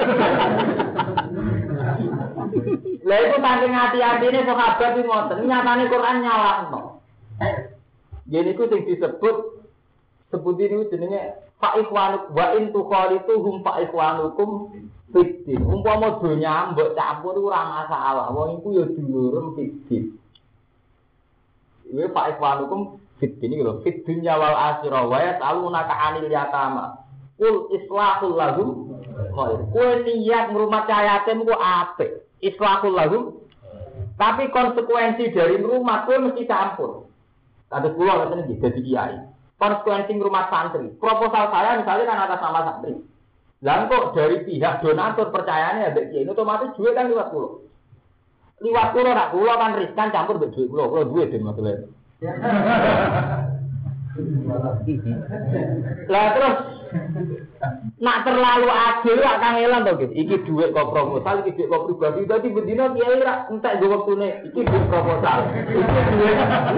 Lah itu saking hati-hatine sahabat iki ngoten, nyatane Quran nyalahno. Yen iku sing disebut sebut ini jenenge fa ikhwanuk wa in tuqalituhum fa ikhwanukum fiddin. Umpama donya mbok campur ora masalah, wong iku ya dulurem fiddin. Iku fa ikhwanukum fiddin iki lho, fid dunya wal akhirah wa yasalunaka 'anil yatama. Kul islahul lahum khair. Kowe niat ngrumat cayatem ku apik. Islahul lahum. Tapi konsekuensi dari ngrumat kowe mesti campur. Kados kula ngeten iki dadi kiai. Konsekuensi ngrumat santri. Proposal saya misalnya kan atas nama santri. Lah kok dari pihak donatur percayane ambek kiai otomatis duit kan liwat kula. Liwat kula rak kula kan riskan campur mbek duit kula. Kula duwe den maksudnya. Lah terus nak terlalu adil lah kangelan to gitu. Iki dhuwit kok proposal, iki dhuwit kok pribadi. Dadi bendina kiai ra entek go wektune. Iki dhuwit proposal. Iki dhuwit.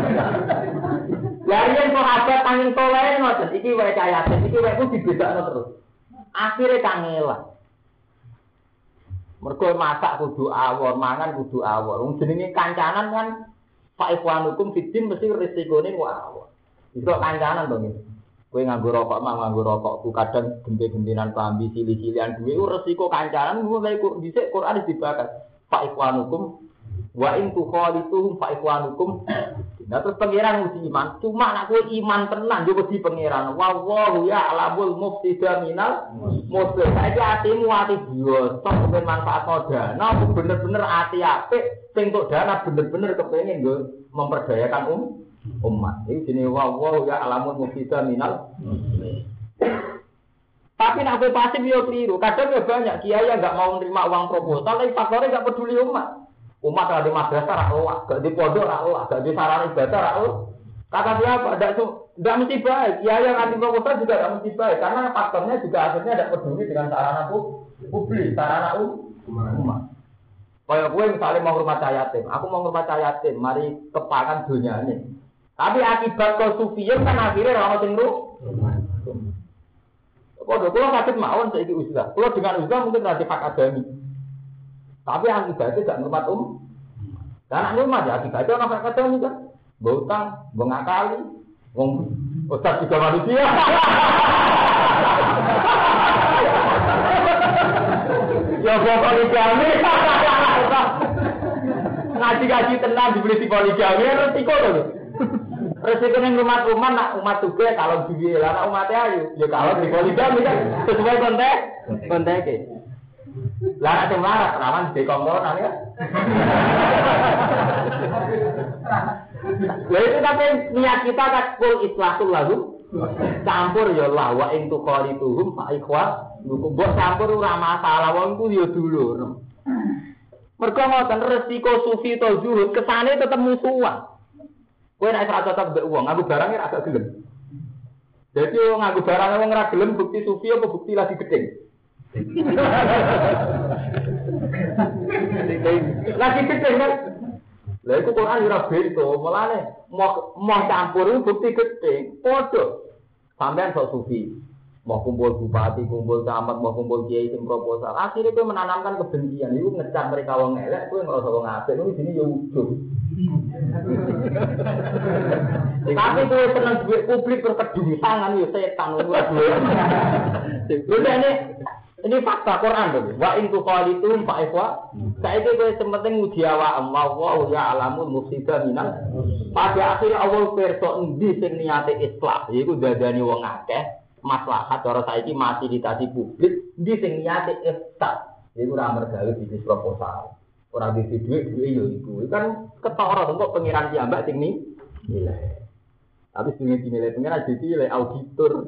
Lah yen kok ada tanging toleh ngoten. Iki wae cahaya, iki wae ku dibedakno terus. Akhire kangelan. Mergo masak kudu awor, mangan kudu awor. Wong jenenge kancanan kan Pak Ikhwan hukum fitin mesti resikone ku awor. Iso kancanan to ngene. Kowe nganggo rokok mah nganggo rokokku kadang genti-gentinan klambi cili-cilian duwe resiko kancanan mulai kok dhisik Quran dibakar. Fa ikhwanukum wa in tukhalituhum fa ikhwanukum. Nah terus pangeran uji iman, cuma nak kowe iman tenan yo wedi pangeran. Wallahu ya'lamul mufsida minal muslih. Saiki atimu ati biasa kepen manfaat dana, bener-bener ati apik sing tok dana bener-bener kepengin nggo memperdayakan um umat. Ini jenis wow ya alamun mufsida minal. Tapi nak kowe pasif yo keliru. Kadang ya banyak kiai yang enggak mau menerima uang proposal tapi faktornya enggak peduli umat. Umat ada di madrasah ra loak, enggak di pondok ra loak, enggak di sarana ibadah ra loak. Kata siapa? Enggak enggak mesti baik. Kiai yang anti proposal juga enggak mesti baik karena faktornya juga akhirnya enggak peduli dengan sarana publik, sarana umat. Kayak kowe misalnya mau rumah yatim, aku mau rumah yatim, mari kepakan dunyane. Tapi akibat kesufian kan akhirnya orang sing ruh. Kok kula sakit mawon saiki uzlah. Kula dengan uzlah mungkin nanti hak adami. Tapi akibatnya gak ngurmat um. Dan ngurmat ya akibatnya orang hak adami kan. Ngutang, ngakali, wong ustaz juga manusia. Ya kok poligami. Ngaji-ngaji tenang dibeli di poligami resiko lho. Resiko ning umat-umat nak umat juga kalau duwe lah nak umat ayu ya kalau di poligami kan sesuai konteks konteke. Lah nek melarat rawan di kongkonan ya. Lah itu tapi niat kita kan kul islatul lahum campur ya lah wa in tuqalituhum fa ikhwa mbok campur ora masalah wong ku ya dulur. Mergo ngoten resiko sufi to zuhud kesane tetep musuhan. Kowe nek ora cocok mbek wong, nganggo barang ora agak gelem. Dadi wong nganggo barang wong ora gelem bukti sufi apa bukti lagi gedeng. Lagi gedeng kan. Lah iku Quran ora bento, mulane mau mau campur bukti gedeng, padha. Sampeyan sok sufi. Mau kumpul bupati, kumpul camat, mau kumpul kiai sing proposal. Akhirnya kowe menanamkan kebencian. Iku ngecap mereka wong elek, kowe ngrasa wong apik. Niku jenenge ya ujug. Tapi kowe seneng duit publik berkedung tangan ya setan luar biasa. Ini ini fakta Quran lho. Wa in tuqalitum fa ikhwa. Saiki kowe sementing nguji awak Allah ya alamul mufsida minal. Pada akhir awal perso endi sing niate islah, iku dadani wong akeh. Maslahat cara saiki masih ditasi publik di sing niate ifsad. Iku ora mergawe bisnis proposal. Ora di dhuwit dhuwit yo iku. Kan ketara kok pengiran piyambak sing ni nilai. Tapi sing dinilai pengiran dinilai auditor.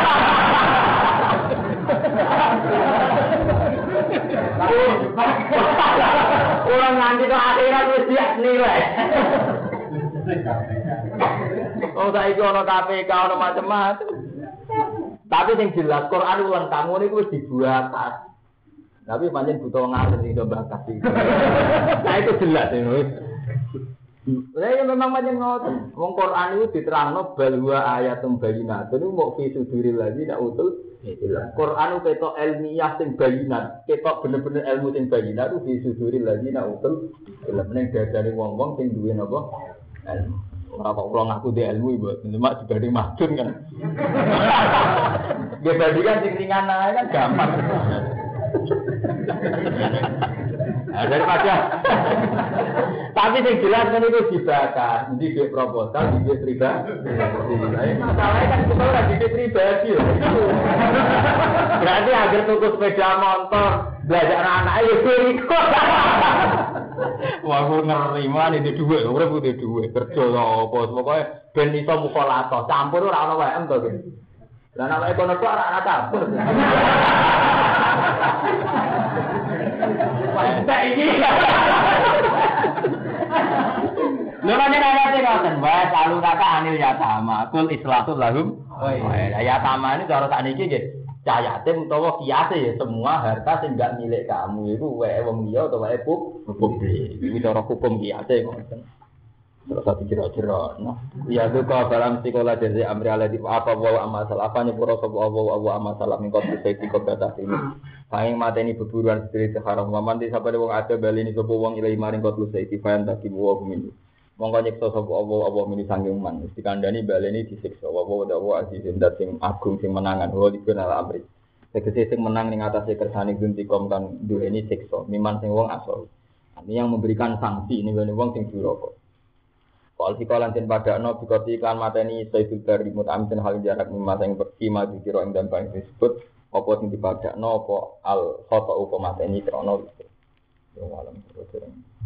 Orang nganti kok akhirat wis siap nilai. Oh saiki ono K P K ono macam-macam. Tapi yang jelas Quran ulang kamu ini wis dibuat. Tapi pancen butuh ngalir sing iso bakat iki. Nah itu jelas ini. Lah ya memang pancen ngoten. Wong Quran itu diterangno bal wa ayatum bayyinat. Itu mau fi suduril ladzi utul ilm. Quran itu ketok ilmiah sing bayyinat. Ketok bener-bener ilmu sing bayyinat itu fi suduril ladzi utul ilm. Ning dadane wong-wong sing duwe napa? Ilmu. Ora kok kula ngaku di ilmu ibu, cuma dibanding madun kan. Dibanding kan sing ringan ae kan gampang. Nah, daripada tapi sing jelas kan itu dibakar, nanti duit proposal, duit pribadi. Masalahnya kan kita ora duit pribadi ya. Berarti agar tuku sepeda motor, belajar anak ayo berikut. Wah, aku nerima nih di duit, urip di duit, kerja apa, pokoknya ben iso mukhalafah, campur ora ono W M to gitu. Lah nek ekonomi ora ana campur. Tak iki. Lha pancen ayate ngoten, Mas. selalu kata anil yatama, kul islatul lahum. Oh iya, yatama ini cara sakniki nggih. Cah yatim utawa kiate ya semua harta sing enggak milik kamu itu wae wong liya utawa wae publik. Iki cara hukum kiate ngoten. Terus satu kira-kira, nah, ya itu kau dalam sekolah jadi amri aladi apa bawa amal salah apa nyepuro sopo bawa bawa amal salah mingkot bisa ikut batas ini. Paling mata ini berburuan sediri haram. Maman di siapa wong ada bali ini sopo wong ilai maring kot lusa itu fayan tak ibu wong ini. Mongko nyekso sopo bawa bawa ini sanggeng man. Mesti kandani bali ini disiksa. Bawa bawa aziz dan sing agung sing menangan. Bawa dikenal amri. Sekesi sing menang ning atas kersane guntikom kan dua ini siksa. Miman sing wong asal. Ini yang memberikan sanksi ini wong sing duraka. Wal sikalan den padakno bikoti iklan mateni Sayyidul Bari mutamin hal jarak mimasa ing berkima dikira ing dan bang disebut apa sing dipadakno apa al khata apa mateni krana. Ya alam terus.